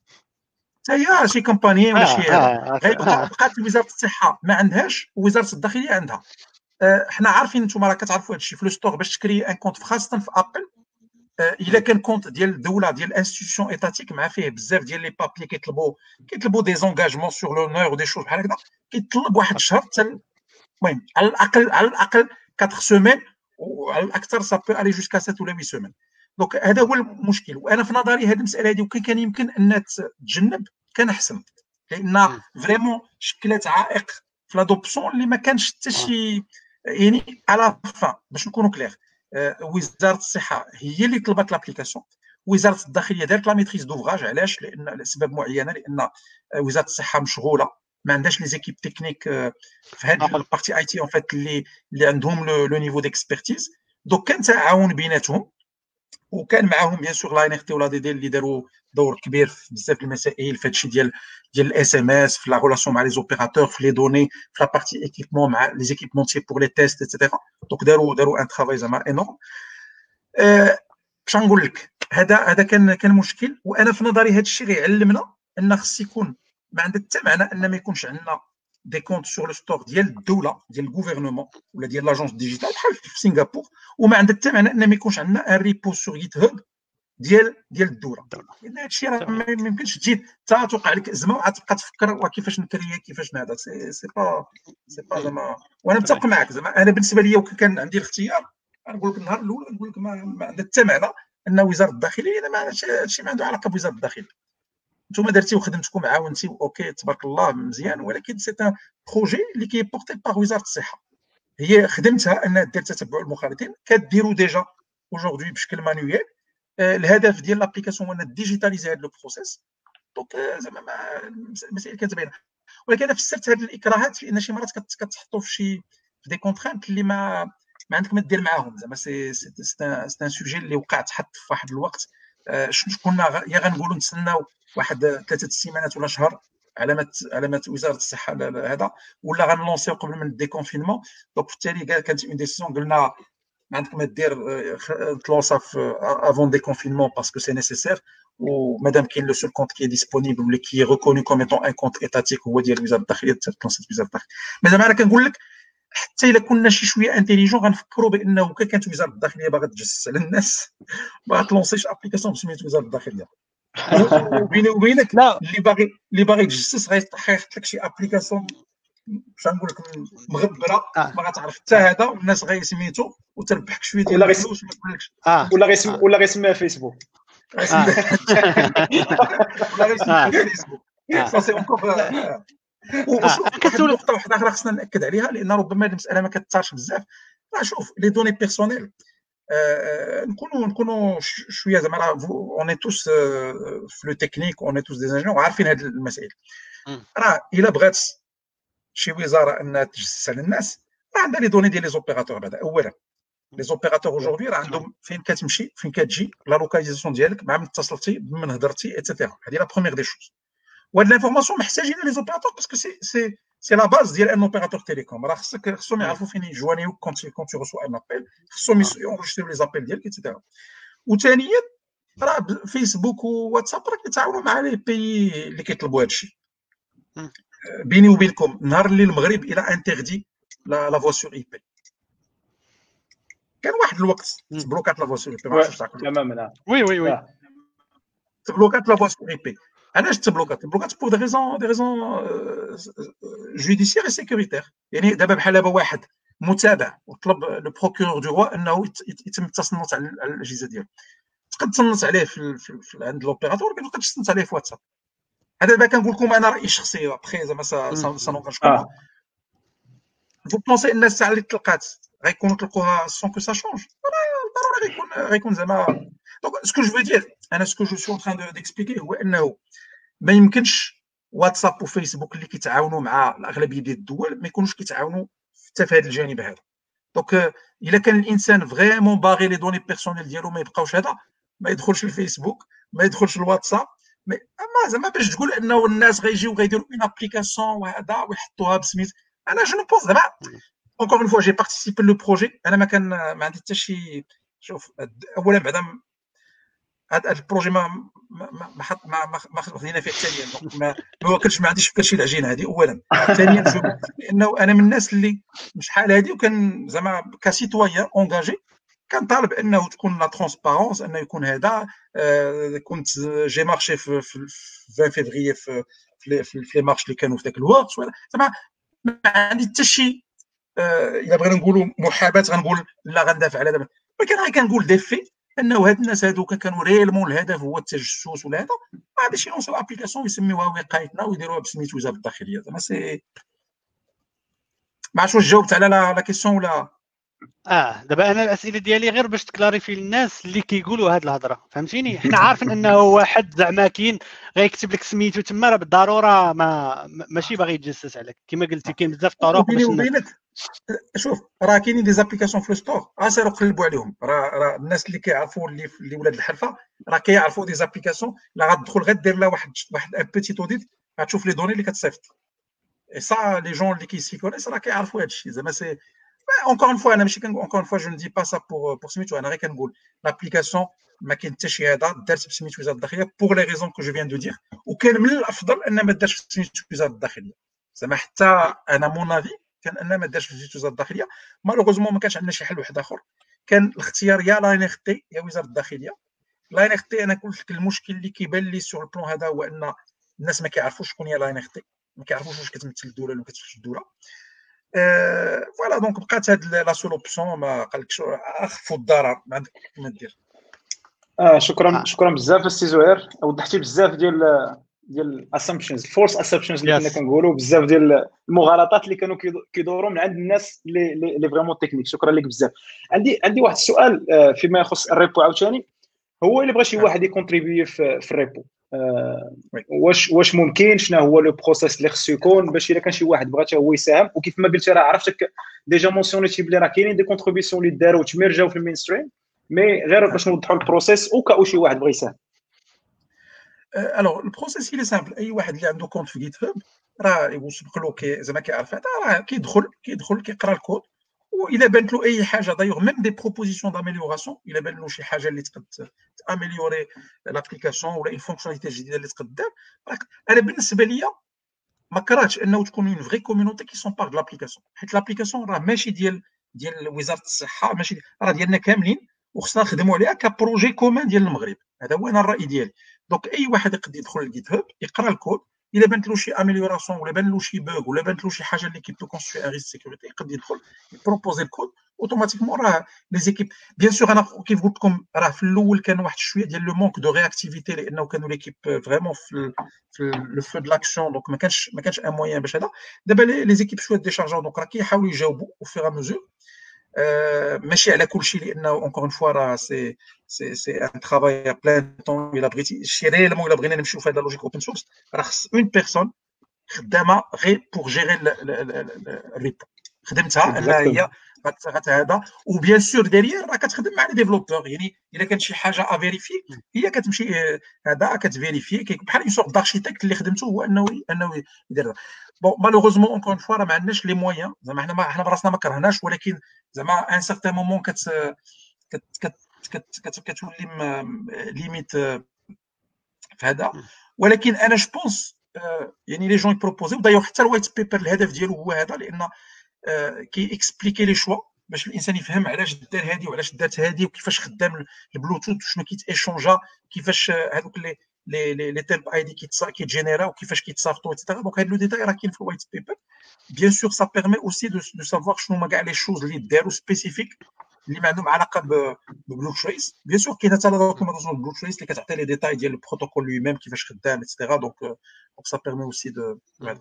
حتى هي شي كومباني ولا شي هذا. بقات وزاره الصحه ما عندهاش ووزاره الداخليه عندها. حنا عارفين نتوما راه كتعرفوا هادشي في لو ستور باش تكري ان كونت خاصه في ابل. الا كان كونت ديال الدوله ديال انستيتيوشن ايتاتيك مع فيه بزاف ديال لي بابي كيطلبوا دي زونغاجمون سور لونور ودي شوز بحال هكذا، كيطلب واحد الشهر حتى المهم على الاقل 4 سيمين، وعلى الاكثر سا بو الي جوسكا 7 ولا 8 سيمين. دونك هذا هو المشكل. وانا في نظري هذه المساله هذه وكان كان يمكن انها تتجنب كان احسن، لان فريمون شكلت عائق في لادوبسيون اللي ما كانش حتى شي يعني على فان. باش نكونوا كلير، وزاره الصحه هي اللي طلبت لابليكاسيون، وزاره الداخليه دارت لا ميتريز دوفراج. علاش؟ لان لاسباب معينه، لان وزاره الصحه مشغوله، ما عندهاش لي زيكيب تكنيك في هذه البارتي اي تي اون فيت اللي عندهم لو نيفو ديكسبيرتيز. دونك كان تعاون بيناتهم، وكان معاهم بيان سور لا ان ار تي ولا دي دي اللي داروا دور كبير في بزاف المسائل في هادشي ديال الاس ام اس، في لا ريلاسيون مع لي زوبيراتور، في لي دوني، في لا بارتي ايكيبمون مع لي زيكيبمونتي بور لي تيست ايتترا. دونك داروا ان ترافاي زعما انورم. باش نقول لك هذا كان مشكل. وانا في نظري هذا الشيء غيعلمنا ان خص يكون ما عندها حتى معنى ان ما يكونش عندنا دي كونت سور لو ستور ديال الدوله ديال الغوفرنمون ولا ديال لاجونس ديجيتال بحال في سنغافور، وما عندها حتى معنى ان ما يكونش عندنا ان ريبو سور جيت هاب ديال الدوله. لان هذا الشيء راه ما يمكنش تجي حتى توقع لك ازمه وعاد تبقى تفكر كيفاش نكري كيفاش نهضر. سي با زعما. وانا متفق معك زعما. انا بالنسبه لي وكان عندي الاختيار غنقول لك النهار الاول غنقول لك ما عندها حتى معنى ان وزاره الداخليه اذا ما هادشي ما عنده علاقه بوزاره الداخليه. نتوما درتي وخدمتكم عاونتي اوكي تبارك الله مزيان، ولكن سي ان بروجي اللي كي بورتي باغ وزاره الصحه، هي خدمتها انها دير تتبع المخالطين، كديروا ديجا اaujourd'hui بشكل مانيويل. الهدف ديال لابليكاسيون هو ان ديجيتاليزي هذا لو بروسيس. دونك زعما المسائل كانت باينه، ولكن انا فسرت هذه الاكراهات لان شي مرات كتحطوا في دي كونترانت اللي ما عندك ما دير معاهم. زعما سي ان سوجي اللي وقع تحط في واحد الوقت. كنا يا غنقولوا نتسناو واحد 3 سيمانات ولا شهر علامات وزاره الصحه هذا، ولا غنلونسيو قبل من الديكونفينمون. دونك بالتالي كانت اون ديسيزيون قلنا ما عندك ما دير تلونسا افون ديكونفينمون باسكو سي نيسيسير، ومادام كاين لو سول كونت كي ديسپونيبل واللي كي ريكوني كوم ايتون ان كونت ايتاتيك هو ديال وزاره الداخليه، تلونسات وزاره الداخليه. مي زعما انا كنقول لك حتى الا كنا شي شويه انتيليجون غنفكروا بانه كانت وزاره الداخليه باغا تجسس على الناس ما تلونسيش ابليكاسيون بسميت وزاره الداخليه. وبيني وبينك اللي باغي يتجسس غيحط لك شي ابليكاسيون باش نقول لك مغبره ما غتعرف حتى هذا، والناس غيسميتو وتربحك شويه ديال الفلوس وما تقولكش ولا غيسميها فيسبوك ولا غيسميها فيسبوك. سا سي اونكور. واحد النقطه واحده اخرى خصنا ناكد عليها لان ربما هذه المساله ما كتثارش بزاف. شوف لي دوني بيرسونيل نكونوا شويه زعما اون توس في لو تكنيك، اون توس دي انجينيور عارفين هذه المسائل. راه الا بغات شي وزاره انها تجسس على الناس راه عندها لي دوني ديال لي زوبيراتور. بعدا اولا لي زوبيراتور اوجوردي راه عندهم فين كتمشي فين كتجي لا لوكاليزاسيون ديالك مع من اتصلتي بمن هضرتي ايتترا. هذه لا بروميير دي شوز. وهاد لانفورماسيون محتاجين لي زوبيراتور باسكو سي لا باز ديال ان اوبيراتور تيليكوم. راه خصهم يعرفوا فين يجوانيو كونت تو ريسوا ان ابيل، خصهم يونجستريو لي زابيل ديالك ايتترا. وثانيا راه فيسبوك وواتساب راه كيتعاونوا مع لي بيي اللي كيطلبوا هادشي. بيني وبينكم نهار اللي المغرب الى انتردي لا فوا سور اي بي كان واحد الوقت تبلوكات لا فوا سور اي بي. ما عرفتش تعقلوا تماما. وي تبلوكات لا فوا سور اي بي. علاش تبلوكات بور دي ريزون جوديسيير اي سيكوريتير. يعني دابا بحال دابا واحد متابع وطلب لو بروكورور دو روا انه يتم التصنت على الاجهزه ديالو، تقد تصنت عليه في عند لوبيراتور، ما تقدرش تصنت عليه في واتساب. هذا دابا كنقول لكم انا رايي الشخصي ابخي زعما سا نونغاجكم. فو بونسي ان الساعه اللي تلقات غيكونوا تلقوها سون كو سا شونج؟ ضروري غيكون زعما. دونك سكو جو دير انا سكو جو سو تران ديكسبليكي هو انه ما يمكنش واتساب وفيسبوك اللي كيتعاونوا مع الاغلبيه ديال الدول ما يكونوش كيتعاونوا حتى في هذا الجانب هذا. دونك الا كان الانسان فريمون باغي لي دوني بيرسونيل ديالو ما يبقاوش هذا، ما يدخلش الفيسبوك ما يدخلش الواتساب. اما زعما باش تقول انه الناس غيجيو غيديروا اون ابليكاسيون وهذا ويحطوها بسميت، انا جو نو بونس زعما اونكور اون فوا جي بارتيسيبي لو بروجي. انا ما عندي حتى شي. شوف اولا بعدا هذا البروجي ما خدينا فيه ثانيا، ما واكلش ما عنديش فكره شي العجينه هذه اولا. ثانيا لانه انا من الناس اللي شحال هذه وكان زعما كسيتويان اونغاجي كنطالب انه تكون لا ترونسبارونس، انه يكون هذا. كنت جي مارشي في 20 فيفري في لي مارش اللي كانوا في ذاك الوقت. زعما ما عندي حتى شي الا بغينا نقولوا محاباه غنقول لا غندافع على دابا، ولكن غير كنقول ديفي انه هاد الناس هادوك كانوا ريالمون الهدف هو التجسس ولا هذا. ما غاديش يلونسوا ابليكاسيون ويسميوها وقايتنا ويديروها بسميت وزاره الداخليه. زعما سي ما عرفتش واش جاوبت على لا كيسيون ولا. دابا انا الاسئله ديالي غير باش تكلاريفي للناس اللي كيقولوا هاد الهضره، فهمتيني؟ حنا عارفين انه واحد زعما كاين غيكتب لك سميتو تما راه بالضروره ماشي باغي يتجسس عليك كما قلتي. كاين بزاف طرق باش وبينك. شوف راه كاينين دي زابليكاسيون في الستور سيروا قلبوا عليهم. راه الناس اللي كيعرفوا اللي ولاد الحلفه راه كيعرفوا دي زابليكاسيون. لا غتدخل غدير لها واحد ان بيتي اوديت غتشوف لي دوني اللي كتصيفط. اي سا لي جون اللي كيسيكونيس راه كيعرفوا هادشي. زعما سي encore une fois انا ماشي encore une fois je ne dis pas ça pour سميتو. انا غير كنقول لابليكاسيون ما كاين حتى شي هذا دارت بسميتو وزاره الداخليه pour les raisons que je viens de dire. وكان من الافضل ان ما دارش بسميتو وزاره الداخليه. زعما حتى انا مون افي كان ان ما دارش بسميتو وزاره الداخليه. مالوغوزمون ما كانش عندنا شي حل واحد اخر. كان الاختيار يا لانيغتي يا وزاره الداخليه. لانيغتي انا قلت لك المشكل اللي كيبان لي سور البلان هذا هو ان الناس ما كيعرفوش شكون هي لانيغتي، ما كيعرفوش واش كتمثل الدوله ولا ما كتمثلش الدوله. فوالا دونك بقات هاد لا سول اوبسيون ما قالكش اخفوا الضرر ما عندك ما دير. شكرا بزاف السي زهير، وضحتي بزاف ديال الاسامبشنز فورس اسامبشنز اللي كنا كنقولوا، بزاف ديال المغالطات اللي كانوا كيدوروا من عند الناس اللي فريمون تكنيك. شكرا لك بزاف. عندي واحد السؤال فيما يخص الريبو عاوتاني. هو الا بغى شي واحد يكونتريبيي في الريبو، واش ممكن؟ شنو هو لو بروسيس اللي خصو يكون باش الا كان شي واحد بغى حتى هو يساهم؟ وكيف ما قلت راه عرفتك ديجا مونسيونيتي بلي راه كاينين دي كونتريبيسيون اللي داروا وتمرجاو في المين ستريم، مي غير باش نوضحوا البروسيس وكاو شي واحد بغى يساهم. الوغ البروسيس اللي سامبل، اي واحد اللي عنده كونت في جيت هاب راه يسبق له زعما كيعرف هذا، راه كيدخل كيقرا الكود، واذا بانت له اي حاجه دايوغ ميم دي بروبوزيسيون داميليوراسيون، الا بان له شي حاجه اللي تقد تاميليوري لابليكاسيون ولا اون فونكسيوناليتي جديده اللي تقد دار، انا بالنسبه ليا ما كرهتش انه تكون اون فري كوميونيتي كي سون بار دو لابليكاسيون، حيت لابليكاسيون راه ماشي ديال وزاره الصحه، ماشي راه ديالنا كاملين، وخصنا نخدموا عليها كبروجي كومان ديال المغرب. هذا هو انا الراي ديالي. دونك اي واحد يقدر يدخل للجيت هاب يقرا الكود، الا بانت له شي اميليوراسيون ولا بان له شي بوغ ولا بانت له شي حاجه اللي كيبو كونستروي ان ريسك سيكوريتي، يقدر يدخل يبروبوزي الكود اوتوماتيكمون. راه لي زيكيب بيان سور، انا كيف قلت لكم راه في الاول كان واحد شويه ديال لو مونك دو رياكتيفيتي، لانه كانوا ليكيب فريمون في لو فو دو لاكسيون، دونك ما كانش ان موين باش هذا. دابا لي زيكيب شويه ديشارجاو، دونك راه كيحاولوا يجاوبوا او فيغ ا ميزور، ماشي على كل شيء، لانه اونكور اون فوا راه سي ان ترافاي بلان طون. الا بغيتي شي ريالمون، الا بغينا نمشيو في هذا لوجيك اوبن سورس، راه خص اون بيرسون خدامه غير بور جيري الريبو، خدمتها انها هي هذا. وبيان سور ديريير راه كتخدم مع لي ديفلوبور، يعني الا كانت شي حاجه افيريفي هي كتمشي هذا كتفيريفي، بحال اون سورت داركتيكت اللي خدمته هو انه يدير. بون مالوغوزمون اونكور فوا راه ما عندناش لي مويان، زعما حنا براسنا ما كرهناش، ولكن زعما ان سارتان مومون كتولي ليميت في هذا. ولكن انا جو بونس يعني لي جون يبروبوزيو دايوغ حتى الوايت بيبر الهدف ديالو هو هذا، لان كي اكسبليكي لي شوا باش الانسان يفهم علاش دار هذه وعلاش دارت هذه وكيفاش خدام البلوتوث وشنو كيتيشونجا، كيفاش هذوك لي تيمب اي دي كيتجينيراو وكيفاش كيتصافتوا ايتترا. دونك هذا لو ديتاي راه كاين في الوايت بيبر. بيان سور سا بيرمي اوسي دو سافوار شنو هما كاع لي شوز اللي داروا سبيسيفيك اللي ما عندهم علاقه ببلو تريس. بيان سور كاين حتى لا دوكيومونطاسيون بلو تريس اللي كتعطي لي ديتاي ديال البروتوكول لوي ميم كيفاش خدام ايتترا. دونك سا بيرمي اوسي دو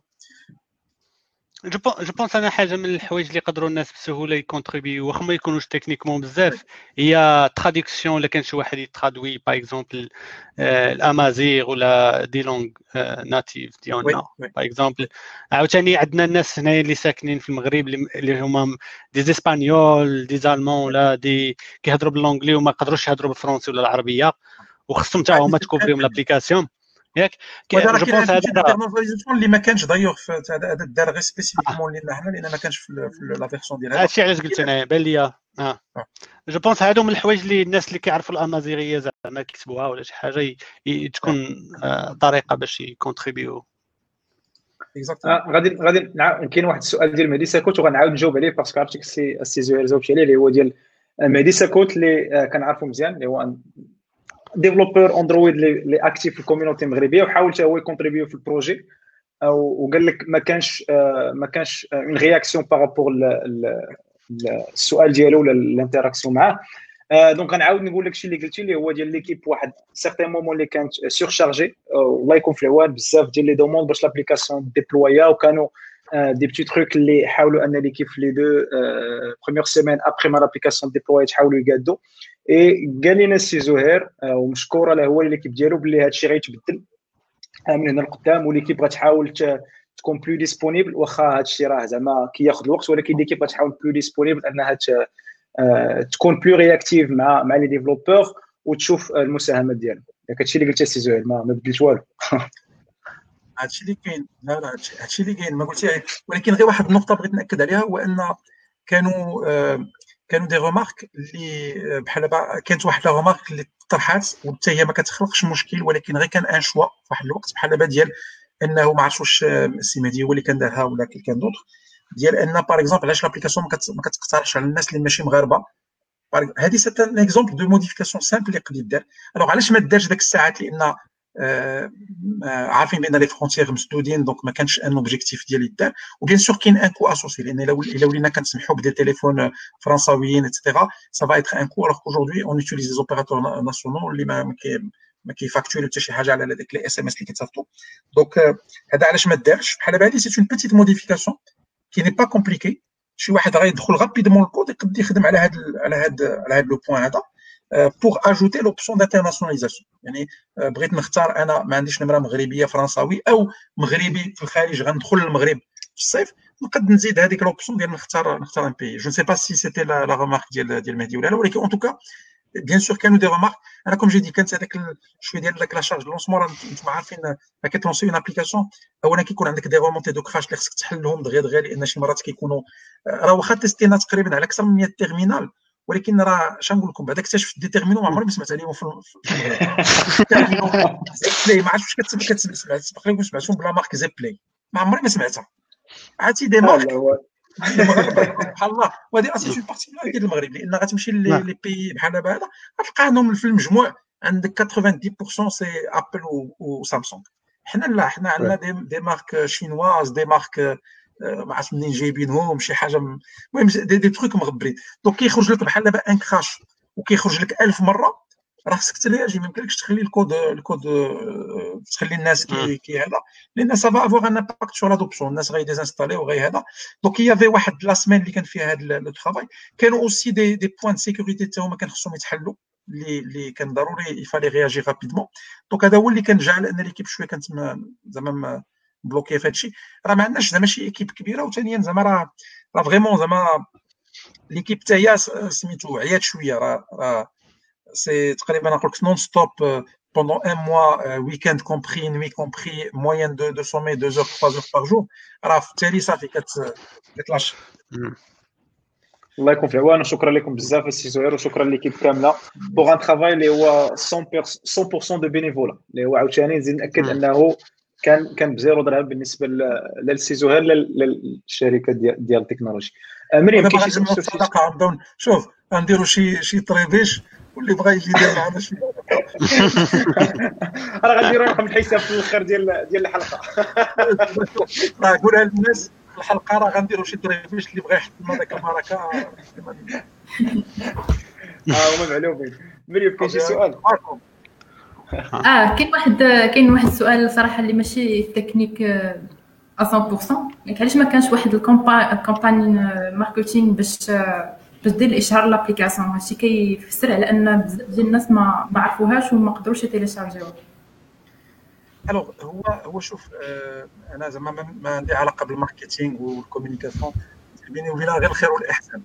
جو بونس انا حاجه من الحوايج اللي يقدروا الناس بسهوله يكونتريبيو واخا ما يكونوش تكنيكمون بزاف، هي تراديكسيون. الا كان شي واحد يترادوي باغ اكزومبل الامازيغ ولا دي لونغ ناتيف ديالنا باغ اكزومبل. عاوتاني عندنا الناس هنايا اللي ساكنين في المغرب اللي هما دي اسبانيول دي زالمون ولا دي كيهضروا باللونجلي وما يقدروش يهضروا بالفرنسي ولا العربيه، وخصهم حتى هما تكوفريهم لابليكاسيون ياك. جو بونس هذا الانترناليزاسيون اللي ما كانش دايوغ في هذا دار غير سبيسيفيكمون لينا حنا، لان ما كانش في لا فيرسيون ديال هذا. هادشي علاش قلت انا بان ليا جو بونس هادو من الحوايج اللي الناس اللي كيعرفوا الامازيغيه زعما كيكتبوها ولا شي حاجه تكون طريقه باش يكونتريبيو. غادي كاين واحد السؤال ديال مهدي ساكوت وغنعاود نجاوب عليه باسكو عرفتك السي زهير جاوبتي عليه، اللي هو ديال مهدي ساكوت اللي كنعرفوا مزيان، اللي هو ديفلوبور اندرويد اللي اكتيف في الكوميونيتي المغربيه، وحاول حتى هو يكونتريبيو في البروجي، وقال لك ما كانش اون رياكسيون بارابور السؤال ديالو ولا الانتراكسيون معاه. دونك غنعاود نقول لك الشيء اللي قلتي، اللي هو ديال ليكيب واحد سيغتان مومون اللي كانت سورشارجي، والله يكون في العوان بزاف ديال لي دوموند باش لابليكاسيون ديبلويا، وكانوا دي بتي تروك اللي حاولوا ان ليكيب في لي دو بروميير سيمين ابري ما لابليكاسيون ديبلويا تحاولوا يقادوا. اي قال لنا السي زهير ومشكوره له هو ليكيب ديالو باللي هذا الشيء غيتبدل من هنا لقدام، وليكيب غتحاول تكون بلو ديسپونيبل، واخا هذا الشيء راه زعما كياخذ الوقت، ولكن ليكيب غتحاول بلو ديسپونيبل انها تكون بلو رياكتيف مع لي ديفلوبور وتشوف المساهمات ديالهم. داك الشيء اللي قلتي السي زهير ما بدلت والو. هادشي اللي كاين، لا هادشي اللي كاين ما قلتي، ولكن غير واحد النقطه بغيت ناكد عليها، هو ان كانوا دي رومارك اللي بحال دابا كانت واحد لا رومارك اللي طرحات وحتى هي ما كتخلقش مشكل، ولكن غير كان ان شوا في واحد الوقت بحال دابا ديال انه ما عرفتش واش السي مهدي هو اللي كان دارها ولا كان دوطخ، ديال ان باغ اكزومبل علاش لابليكاسيون ما كتقترحش على الناس اللي ماشي مغاربه. هذه سيت ان اكزومبل دو موديفيكاسيون سامبل اللي يقدر يدار. الوغ علاش ما دارش داك الساعات؟ لان عارفين بان لي فرونتيير مسدودين، دونك ما كانش ان اوبجيكتيف ديالي يدار. وبيان سور كاين ان كو اسوسي، لان الا ولينا كنسمحوا بدي تليفون فرنساويين ايتترا سا فا ايتر ان كو، الوغ كوجوردي اون يوتيليز لي زوبيراتور ناسيونال اللي ما كيفاكتوريو حتى شي حاجه على ديك لي اس ام اس اللي كيتصيفطوا. دونك هذا علاش ما دارش بحال هذه. سي اون بيتيت موديفيكاسيون كي ني با كومبليكي. شي واحد غيدخل غابيدمون الكود يقد يخدم على هذا لو بوين هذا pour ajouter l'option d'internationalisation. يعني بغيت نختار انا ما عنديش نمره مغربيه فرنساوي او مغربي في الخارج غندخل للمغرب في الصيف، نقد نزيد هذيك لوبسيون ديال نختار ان بي. جو نسي با سي سيتي لا ريمارك ديال مهدي ولا لا، ولكن ان توكا بيان سور كانوا دي ريمارك. انا كوم جي دي كانت هذاك شويه ديال داك لا شارج لونسمون. انتم عارفين كتلونسي اون ابليكاسيون اولا كيكون عندك دي رومونتي دو كراش اللي خصك تحلهم دغيا لان شي مرات كيكونوا راه واخا تيستينا تقريبا على اكثر من 100 تيرمينال، ولكن راه اش نقول لكم بعد اكتشفت دي تيرمينو ما عمري ما سمعت عليهم في المغرب. زيبلاي ما عرفتش كتسمع تقريبا سمعتهم بلا مارك زيبلاي، ما عمري ما سمعتها. عرفتي دي مارك المغرب سبحان الله. وهذه اصلا شي بارتيكولاريتي ديال المغرب، لان غتمشي لي بي بحال دابا هذا غتلقى عندهم في المجموع عندك 90% سي ابل وسامسونج. حنا لا، حنا عندنا دي مارك شينواز، دي مارك ما عرفتش منين جايبينهم، شي حاجه المهم دي تروك مغبرين. دونك كيخرج لك بحال دابا ان كراش وكيخرج لك 1000 مره، راه خصك ترياجي. ما يمكنلكش تخلي الكود تخلي الناس كي هذا، لان سا فا افوار ان امباكت سور لادوبسيون. الناس غيديزانستالي وغي هذا. دونك يافي واحد لا سيمين اللي كان فيها هذا لو ترافاي، كانوا اوسي دي بوين دو سيكوريتي حتى هما كان خصهم يتحلوا، اللي كان ضروري يفالي رياجي رابيدمون. دونك هذا هو اللي كان جعل ان ليكيب شويه كانت زعما بلوكي في هادشي. راه ما عندناش زعما شي ايكيب كبيره، وثانيا زعما راه فريمون زعما ليكيب تاع هي سميتو عيات شويه. راه سي تقريبا نقول لك نون ستوب pendant un mois, week-end compris, nuit compris, moyenne de sommeil 2 heures 3 heures par jour. راه في التالي صافي كتلاش. الله يكون في عوانه. شكرا لكم بزاف السي زهير، وشكرا ليكيب كامله بوغ ان ترافاي اللي هو 100% دو بينيفولا، اللي هو عاوتاني نزيد ناكد انه كان بزيرو درهم بالنسبه للسي زهير للشركه ديال التكنولوجي. مريم كاين شي صدقه شوف غنديروا شي طريبيش، واللي بغى يجي يدير معنا شي راه غنديروا رقم الحساب في الاخر ديال الحلقه. راه قولها للناس الحلقه، راه غنديروا شي طريبيش اللي بغى يحط لنا داك البركه. هما معلومين. مريم كاين شي سؤال؟ كاين واحد السؤال صراحه اللي ماشي تكنيك 100%. يعني علاش ما كانش واحد الكامباني ماركتينغ باش دير الاشهار لابليكاسيون؟ هادشي كيفسر على ان بزاف ديال الناس ما عرفوهاش وما قدروش يتيليشارجيوها. الوغ هو شوف، انا زعما ما عندي علاقه بالماركتينغ والكومونيكاسيون، بيني وبينها غير الخير والاحسان.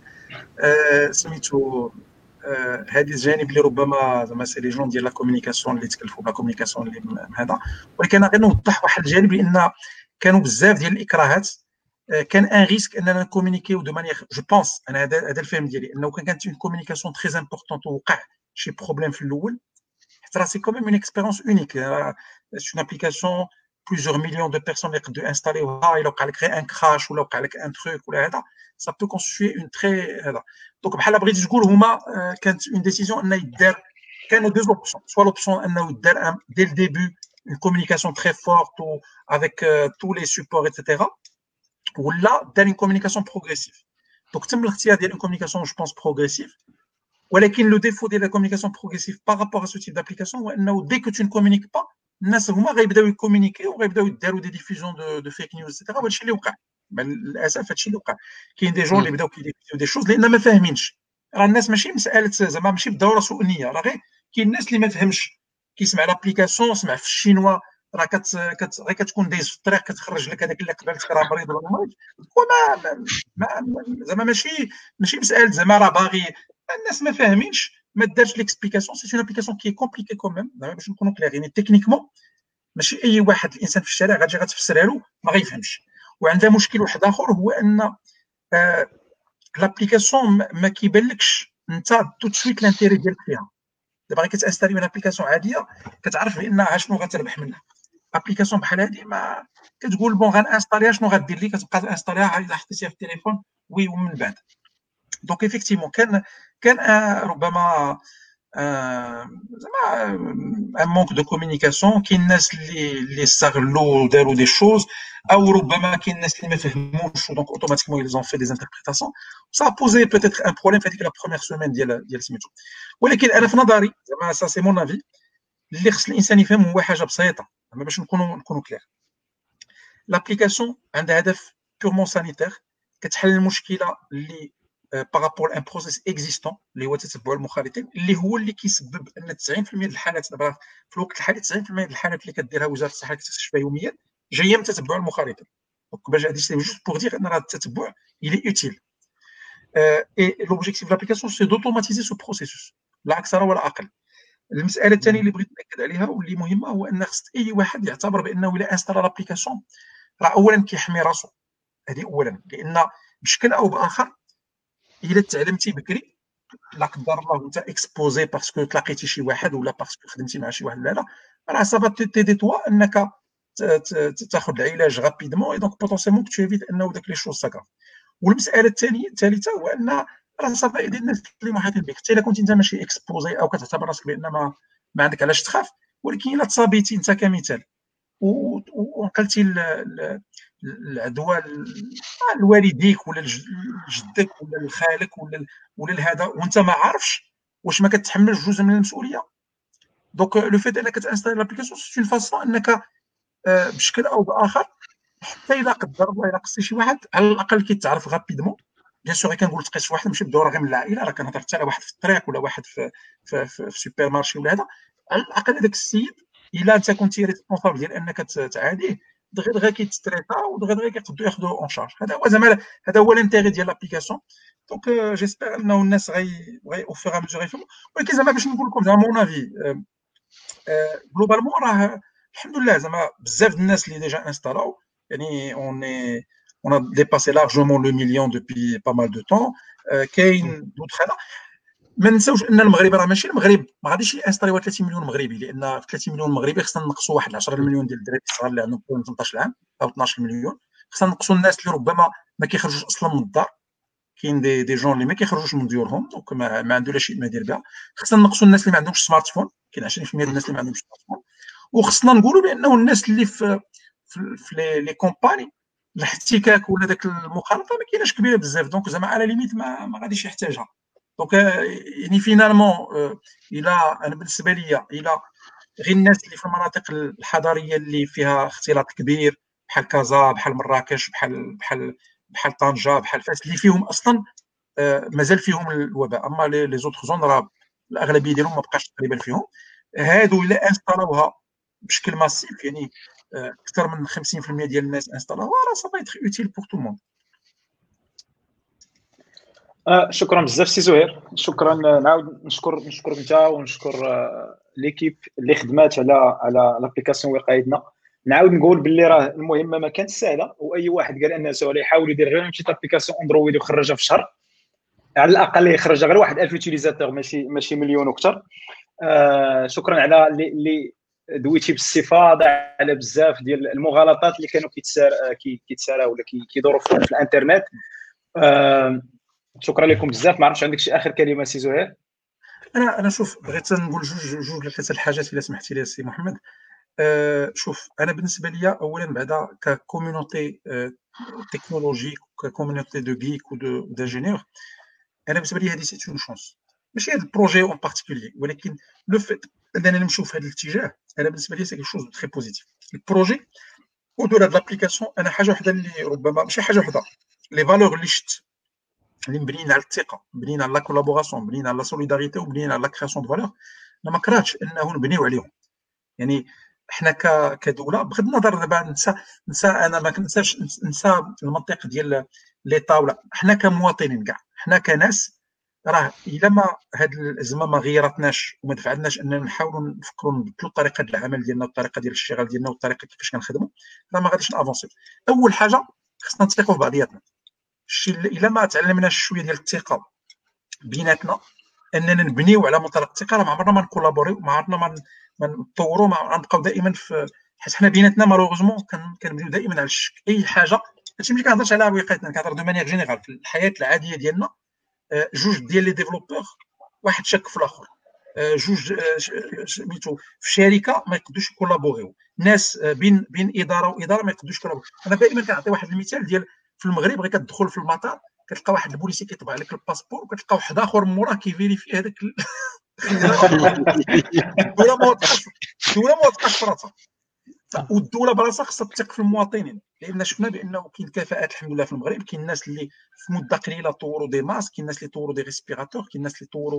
سميتو هذه الجانب اللي ربما زعما سي لي جون ديال لا كومونيكاسيون اللي تكلفوا بلا كومونيكاسيون اللي هذا. ولكن انا غير نوضح واحد الجانب، لان كانوا بزاف ديال الاكراهات. كان ان ريسك اننا نكومونيكيو دو مانيير جو بونس. انا هذا الفهم ديالي، انه كانت اون كومونيكاسيون تري امبورطونت ووقع شي بروبليم في الاول، حيت راه سي كوميم اون اكسبيريونس اونيك. سي اون ابليكاسيون بليزيور مليون دو بيرسون اللي يقدروا انستاليوها. الا وقع لك غير ان كراش ولا وقع لك ان تروك ولا هذا، سا بو كونستيتوي اون تري هذا. دونك بحال بغيتي تقول هما كانت اون ديسيزيون انه يدار. كانوا دو اوبسيون، سوا لوبسيون انه يدار دي الديبي اون كومونيكاسيون تري فورت افيك تو لي سيبور ايتترا، ولا دار اون كومونيكاسيون بروغريسيف. دونك تم الاختيار ديال اون كومونيكاسيون جو بونس بروغريسيف. ولكن لو ديفو ديال لا كومونيكاسيون بروغريسيف بارابور ا سو تيب دابليكاسيون هو انه دي كو تو نكومونيك با، الناس هما غيبداو يكومونيكيو وغيبداو يداروا دي ديفيزيون دو فيك نيوز ايتترا. وهادشي اللي وقع للاسف. هادشي اللي وقع. كاين دي جون اللي بداو كيديفيزيو دي شوز لان ما فاهمينش. راه الناس ماشي مساله زعما ماشي بالضروره سوء نيه، راه غير كاين الناس اللي ما فهمش، كيسمع لابليكاسيون سمع في الشينوا، راه غير كتكون دايز في الطريق كتخرج لك هذاك اللي قبلت راه مريض ولا مريض. وما زعما ماشي مساله زعما راه باغي. الناس ما فاهمينش، ما دارش ليكسبليكاسيون. سي اون ابليكاسيون كي كومبليكي كوميم، زعما باش نكونوا كلير. يعني تكنيكمون ماشي اي واحد الانسان في الشارع غتجي غتفسرها له ما غيفهمش. وعندها مشكل واحد اخر، هو ان لابليكاسيون ما كيبانلكش انت تو سويت لانتيري ديالك فيها. دابا غير كتانستالي اون ابليكاسيون عاديه كتعرف بان شنو غتربح منها. ابليكاسيون بحال هذه ما كتقول بون غنانستاليها شنو غدير لي، كتبقى تانستاليها الا حطيتيها في التليفون ومن بعد. دونك ايفيكتيفمون كان ربما زعما ان مونك دو كومونيكاسيون. كاين الناس اللي استغلوا وداروا دي شوز، او ربما كاين الناس اللي ما فهموش دونك اوتوماتيكمون ils ont fait des interprétations. ça a posé peut-être un problème في هذيك لا بروميير سيمين ديال سميتو. ولكن انا في نظري زعما سا سي مون افي، اللي خص الانسان يفهم هو حاجه بسيطه زعما باش نكونوا كلير. لابليكاسيون عندها هدف بيورمون سانيتير، كتحل المشكله اللي بارابور ان بروسيس اكزيستون اللي هو تتبع المخالطين، اللي هو اللي كيسبب ان 90% ديال الحالات دابا في الوقت الحالي 90% ديال الحالات اللي كديرها وزاره الصحه كتكتشفها يوميا جايه من تتبع المخالطين. دونك باش هادي سي جوست بور دير ان راه التتبع الي اوتيل. اي لوبجيكتيف دو لابليكاسيون سي دوتوماتيزي سو بروسيسوس لا اكثر ولا اقل. المساله الثانيه اللي بغيت ناكد عليها واللي مهمه هو ان خص اي واحد يعتبر بانه الا انستال لابليكاسيون راه اولا كيحمي راسو، هذه اولا، لان بشكل او باخر الا تعلمتي بكري لا قدر الله وانت اكسبوزي باسكو تلاقيتي شي واحد ولا باسكو خدمتي مع شي واحد، لا راه صافا تيدي توا انك تاخذ العلاج رابيدمون، اي دونك بوتونسيلمون تشيفيت انه داك لي شوز ساكا. والمساله الثالثه هو ان راه صافا ديال الناس اللي محيطين بك، حتى الا كنت انت ماشي اكسبوزي او كتعتبر راسك بان ما عندك علاش تخاف، ولكن الا تصابيتي انت كمثال وقلتي العدوى لوالديك ولا لجدك ولا لخالك ولا لهذا وانت ما عارفش، واش ما كتحملش جزء من المسؤوليه؟ دونك لو فيت انك تانستالي لابليكاسيون سي اون فاسون انك بشكل او باخر حتى الا قدر الله الا قصتي شي واحد على الاقل كيتعرف غابيدمون. بيان سور كنقول تقيس واحد ماشي بالضروره غير من العائله، راه كنهضر حتى على واحد في الطريق ولا واحد في سوبر مارشي ولا هذا، على الاقل هذاك السيد الا انت كنتي ريسبونسابل ديال انك تعاديه دغيا كيتستريتا ودغيا كيقدروا ياخذوا اون شارج. هذا هو زعما هذا هو الانتيغي ديال لابليكاسيون. دونك جيسبر انه الناس غي او فور ميزور يفهموا. ولكن زعما باش نقول لكم زعما مون افي جلوبالمون راه الحمد لله زعما بزاف الناس اللي ديجا انستالاو، يعني on a dépassé largement le million depuis pas mal de temps. كاين دوطخ هذا ما نساوش ان المغرب راه ماشي المغرب ما غاديش يانستاليو 30 مليون مغربي، لان في 30 مليون مغربي خصنا نقصوا واحد 10 مليون ديال الدراري الصغار اللي عندهم 18 عام او 12 مليون، خصنا نقصوا الناس اللي ربما ما كيخرجوش اصلا من الدار. كاين دي جون اللي ما كيخرجوش من ديورهم دونك ما عنده لا شيء ما يدير بها. خصنا نقصوا الناس اللي ما عندهمش سمارت فون، كاين 20% ديال الناس اللي ما عندهمش سمارت فون. وخصنا نقولوا بانه الناس اللي في لي كومباني الاحتكاك ولا داك المخالطه ما كايناش كبيره بزاف، دونك زعما على ليميت ما غاديش يحتاجها. دونك يعني فينالمون الى انا بالنسبه لي الى غير الناس اللي في المناطق الحضريه اللي فيها اختلاط كبير بحال كازا بحال مراكش بحال طنجه بحال فاس اللي فيهم اصلا مازال فيهم الوباء، اما لي زوتر زون راه الاغلبيه ديالهم ما بقاش تقريبا فيهم. هادو الا انستالوها بشكل ماسيف يعني اكثر من 50% ديال الناس انستالوها راه صافي يتر اوتيل بور تو مون. شكرا بزاف سي زهير، شكرا. نعاود نشكرك انت ونشكر ليكيب اللي خدمات على لابليكاسيون وقايدنا. نعاود نقول باللي راه المهمه ما كانت سهله، واي واحد قال انه سهل يحاول يدير غير شي لابليكاسيون اندرويد ويخرجها في شهر، على الاقل يخرجها غير واحد 1000 يوتيليزاتور ماشي مليون وكثر. شكرا على اللي دويتي بالاستفاضه على بزاف ديال المغالطات اللي كانوا كيتساراو ولا كيدوروا في الانترنت. شكرا لكم بزاف. ما عرفتش عندك شي اخر كلمه سي زهير؟ انا شوف بغيت نقول جوج ولا ثلاثه الحاجات الا سمحتي لي سي محمد. شوف انا بالنسبه لي اولا بعدا ككوميونيتي تكنولوجيك وككوميونيتي دو غيك ودانجينيور، انا بالنسبه لي هذه سي اون شونس ماشي هذا البروجي اون بارتيكولي، ولكن لو فيت اننا نمشيو في هذا الاتجاه انا بالنسبه لي سي كيك شوز تري بوزيتيف. البروجي ودور هاد لابليكاسيون انا حاجه وحده اللي ربما ماشي حاجه وحده، لي فالور اللي شت اللي مبنيين على الثقه، مبنيين على لا كولابوراسيون، مبنيين على لا سوليداريتي ومبنيين على لا كرياسيون دو فالور، انا ما كرهتش انه نبنيو عليهم. يعني حنا كدوله بغض النظر دابا نسى انا ما كنساش نسى المنطق ديال ليطا ولا حنا كمواطنين كاع حنا كناس راه الا ما هاد الازمه ما غيرتناش وما دفعناش اننا نحاولوا نفكروا نبدلوا طريقه العمل ديالنا والطريقه ديال الاشتغال ديالنا والطريقه كيفاش كنخدموا، راه ما غاديش نافونسيو. اول حاجه خصنا نثقوا في بعضياتنا. الا ما تعلمناش شويه ديال الثقه بيناتنا اننا نبنيو على منطلق الثقه، راه ما عمرنا ما نكولابوريو، ما عمرنا ما نطوروا، ما غنبقاو دائما في حيت حنا بيناتنا مالوغوزمون كنبنيو دائما على الشك. اي حاجه هادشي ملي كنهضرش على وقايتنا كنهضر دو مانيير جينيرال في الحياه العاديه ديالنا. جوج ديال لي ديفلوبور واحد شك في الاخر، جوج سميتو في شركه ما يقدروش يكولابوريو، ناس بين اداره واداره ما يقدروش يكولابوريو. انا دائما كنعطي واحد المثال ديال في المغرب، غير كتدخل في المطار كتلقى واحد البوليسي كيطبع لك الباسبور، وكتلقى واحد اخر موراه كيفيريفي هذاك الدوله ما وثقاش في راسها، والدوله براسها خصها تثق في المواطنين، لان شفنا بانه كاين كفاءات الحمد لله في المغرب. كاين الناس اللي في مده قليله طوروا دي ماسك، كاين الناس اللي طوروا دي ريسبيراتور، كاين الناس اللي طوروا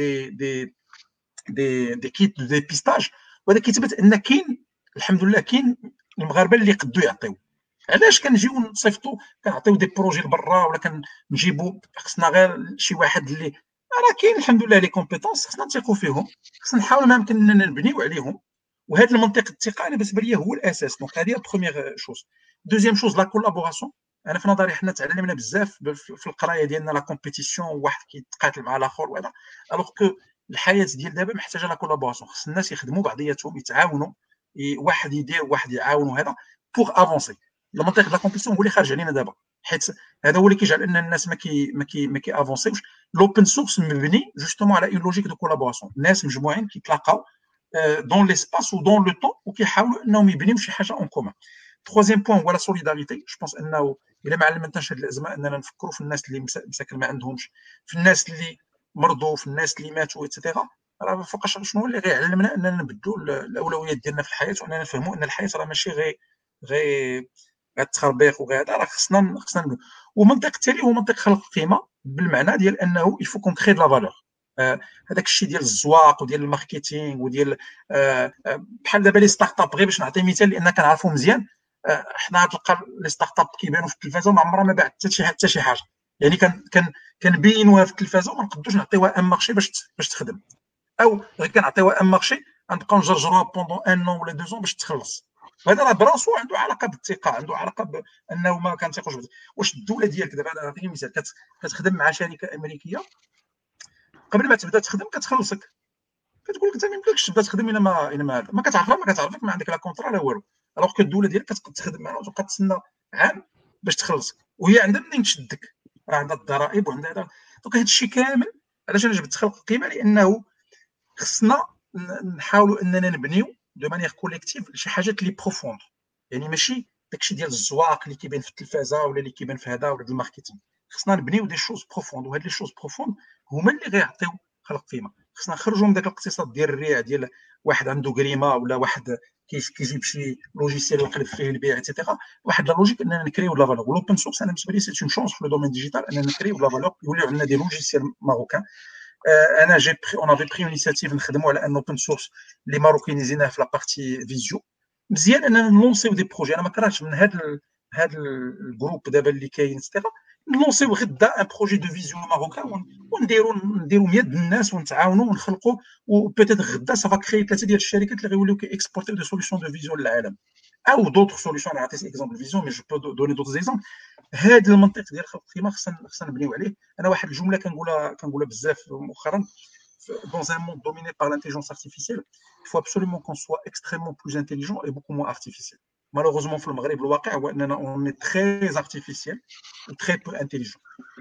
دي كيت دو ديبيستاج، وهذا كيثبت ان كاين الحمد لله كاين المغاربه اللي يقدروا يعطيو. علاش كنجيو نصيفطوا كنعطيو دي بروجي لبرا ولا كنجيبوا؟ خصنا غير شي واحد اللي راه كاين الحمد لله لي كومبيتونس، خصنا نثيقوا فيهم، خصنا نحاولوا ما يمكن اننا نبنيو عليهم. وهذا المنطق الثقه انا بالنسبه لي هو الاساس. دونك هذه بروميير شوز. دوزيام شوز لا كولابوراسيون. انا في نظري حنا تعلمنا بزاف في القرايه ديالنا لا كومبيتيسيون، واحد كيتقاتل مع الاخر وهذا، الوغ كو الحياه ديال دابا محتاجه لا كولابوراسيون. خص الناس يخدموا بعضياتهم، يتعاونوا، واحد يدير واحد يعاون، وهذا بوغ افونسي. المنطق ديال لا كومبيتيسيون هو اللي خارج علينا دابا، حيت هذا هو اللي كيجعل ان الناس ما كي افونسيوش. لوبن سورس مبني جوستومون على اون لوجيك دو كولابوراسيون، الناس مجموعين كيتلاقاو دون ليسباس و دون لو طون وكيحاولوا انهم يبنيو شي حاجه اون كومون. troisième point هو لا سوليداريتي. جو بونس انه الا ما علمتناش هذه الازمه اننا نفكروا في الناس اللي مساكن ما عندهمش، في الناس اللي مرضوا، في الناس اللي ماتوا ايتترا. راه فوقاش شنو اللي غيعلمنا اننا نبدلوا الاولويات ديالنا في الحياه، واننا نفهموا ان الحياه راه ماشي غير التخربيق وغير هذا، راه خصنا نبدلوا. والمنطق التالي هو منطق خلق القيمه، بالمعنى ديال انه يفو كون كري دو لا فالور. هذاك الشيء ديال الزواق وديال الماركتينغ وديال بحال دابا لي ستارت اب. غير باش نعطي مثال لان كنعرفو مزيان، حنا تلقى لي ستارت اب كيبانوا في التلفازه وما عمرها ما باعت حتى شي حاجه، يعني كنبينوها في التلفازه وما نقدروش نعطيوها ان مارشي باش تخدم، او غير كنعطيوها ان مارشي غنبقاو نجرجروها بوندون ان ولا 2 ans باش تخلص. وهذا راه براسو عنده علاقه بالثقه، عنده علاقه بانه ما كنثيقوش. واش الدوله ديالك دابا نعطيك مثال، كتخدم مع شركه امريكيه، قبل ما تبدا تخدم كتخلصك، كتقول لك انت ما يمكنلكش تبدا تخدم الا ما كتعرفها، ما كتعرفك، ما عندك لا كونطرا لا والو. الوغ كو الدوله ديالك كتقدر تخدم معها وتبقى تسنى عام باش تخلصك، وهي عندها منين تشدك، راه عندها الضرائب وعندها هذا. دونك هذا الشيء كامل علاش انا جبت خلق القيمه، لانه خصنا نحاولوا اننا نبنيو دو مانيير كوليكتيف شي حاجات اللي بروفوند، يعني ماشي داكشي ديال الزواق اللي كيبان في التلفازه ولا اللي كيبان في هذا ولا ديال الماركتينغ. خصنا نبنيو دي شوز بروفوند، وهاد لي شوز بروفوند هما اللي غيعطيو خلق قيمه. خصنا نخرجوا من داك الاقتصاد ديال الريع، ديال واحد عنده كريمه ولا واحد كيجيب شي لوجيسيال يقلب فيه البيع ايتترا. واحد لا لوجيك اننا نكريو لا فالور. والاوبن سورس انا بالنسبه لي سي اون شونس في لو دومين ديجيتال اننا نكريو لا فالور، يوليو عندنا دي لوجيسيال ماروكان. انا اون افي بري انيسياتيف نخدموا على ان اوبن سورس اللي ماروكينيزيناه في لا بارتي فيزيو. مزيان اننا نلونسيو دي بروجي. انا ما كرهتش من هذا الجروب دابا اللي كاين ستيغا نلونسيو غدا ان بروجي دو فيزيو ماروكان ونديروا 100 الناس ونتعاونوا ونخلقوا، وبيتيت غدا سافا كري 3 ديال الشركات اللي غيوليو كي اكسبورتيو دي سوليسيون دو فيزيو للعالم او دوطر سوليسيون. انا عطيت اكزومبل فيزيو مي جو بو دوني دوطر زيكزومبل. هذا المنطق ديال خلق القيمه خصنا نبنيو عليه. انا واحد الجمله كنقولها بزاف مؤخرا، dans un monde dominé par l'intelligence artificielle, il faut absolument qu'on soit extrêmement plus intelligent et beaucoup moins artificiel. Malheureusement في المغرب الواقع هو اننا on est très artificiel و très peu intelligent.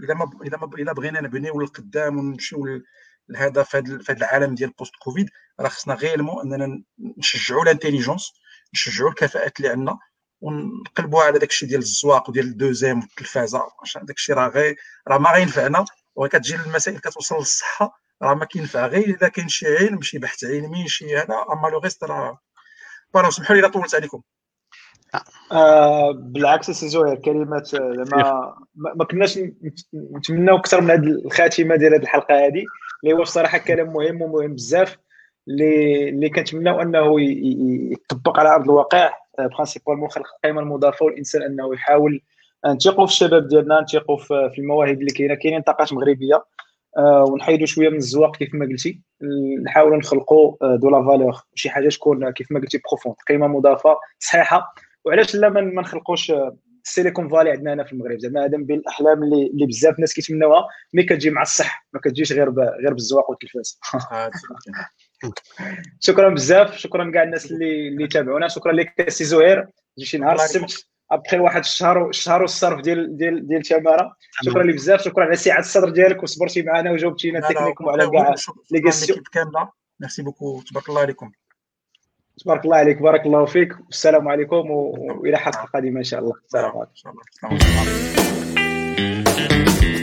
الا بغينا نبنيو للقدام ونمشيو لهذا في هذا العالم ديال بوست كوفيد، راه خصنا غيرمون اننا نشجعوا الانتيليجونس، نشجعوا الكفاءات اللي عندنا، ونقلبوها على داكشي ديال الزواق وديال الدوزيام والتلفازه. عشان داكشي راه ما غينفعنا، وكتجي المسائل كتوصل للصحه راه ما كينفع غير اذا كاين شي علم، شي بحث علمي، شي هذا. اما لو غيست راه فوالا. سمحوا لي الا طولت عليكم. بالعكس سي زهير، كلمات ما كناش نتمناو اكثر من هذه الخاتمه ديال هذه الحلقه هذه، اللي هو بصراحه كلام مهم ومهم بزاف، اللي كنتمناو انه يطبق على ارض الواقع. برينسيبالمون خلق القيمه المضافه والانسان انه يحاول نثيقوا في الشباب ديالنا، نثيقوا في المواهب اللي كاينين طاقات مغربيه، ونحيدوا شويه من الزواق كيف ما قلتي، نحاولوا نخلقوا دو لا فالور، شي حاجه تكون كيف ما قلتي بروفوند، قيمه مضافه صحيحه. وعلاش لا ما نخلقوش السيليكون فالي عندنا هنا في المغرب؟ زعما هذا من بين الاحلام اللي بزاف الناس كيتمناوها، مي كتجي مع الصح، ما كتجيش غير بالزواق والتلفاز. شكرا بزاف، شكرا كاع الناس اللي تابعونا، شكرا لك سي زهير. شي نهار السبت ابخي واحد الشهر والصرف ديال تماره. شكرا لك بزاف، شكرا على سعه الصدر ديالك وصبرتي معنا وجاوبتينا تكنيكوم على كاع لي كيسيون كامله. ميرسي بوكو، تبارك الله عليكم. تبارك الله عليك، بارك الله فيك، والسلام عليكم والى حلقه قادمه ان شاء الله. السلام عليكم.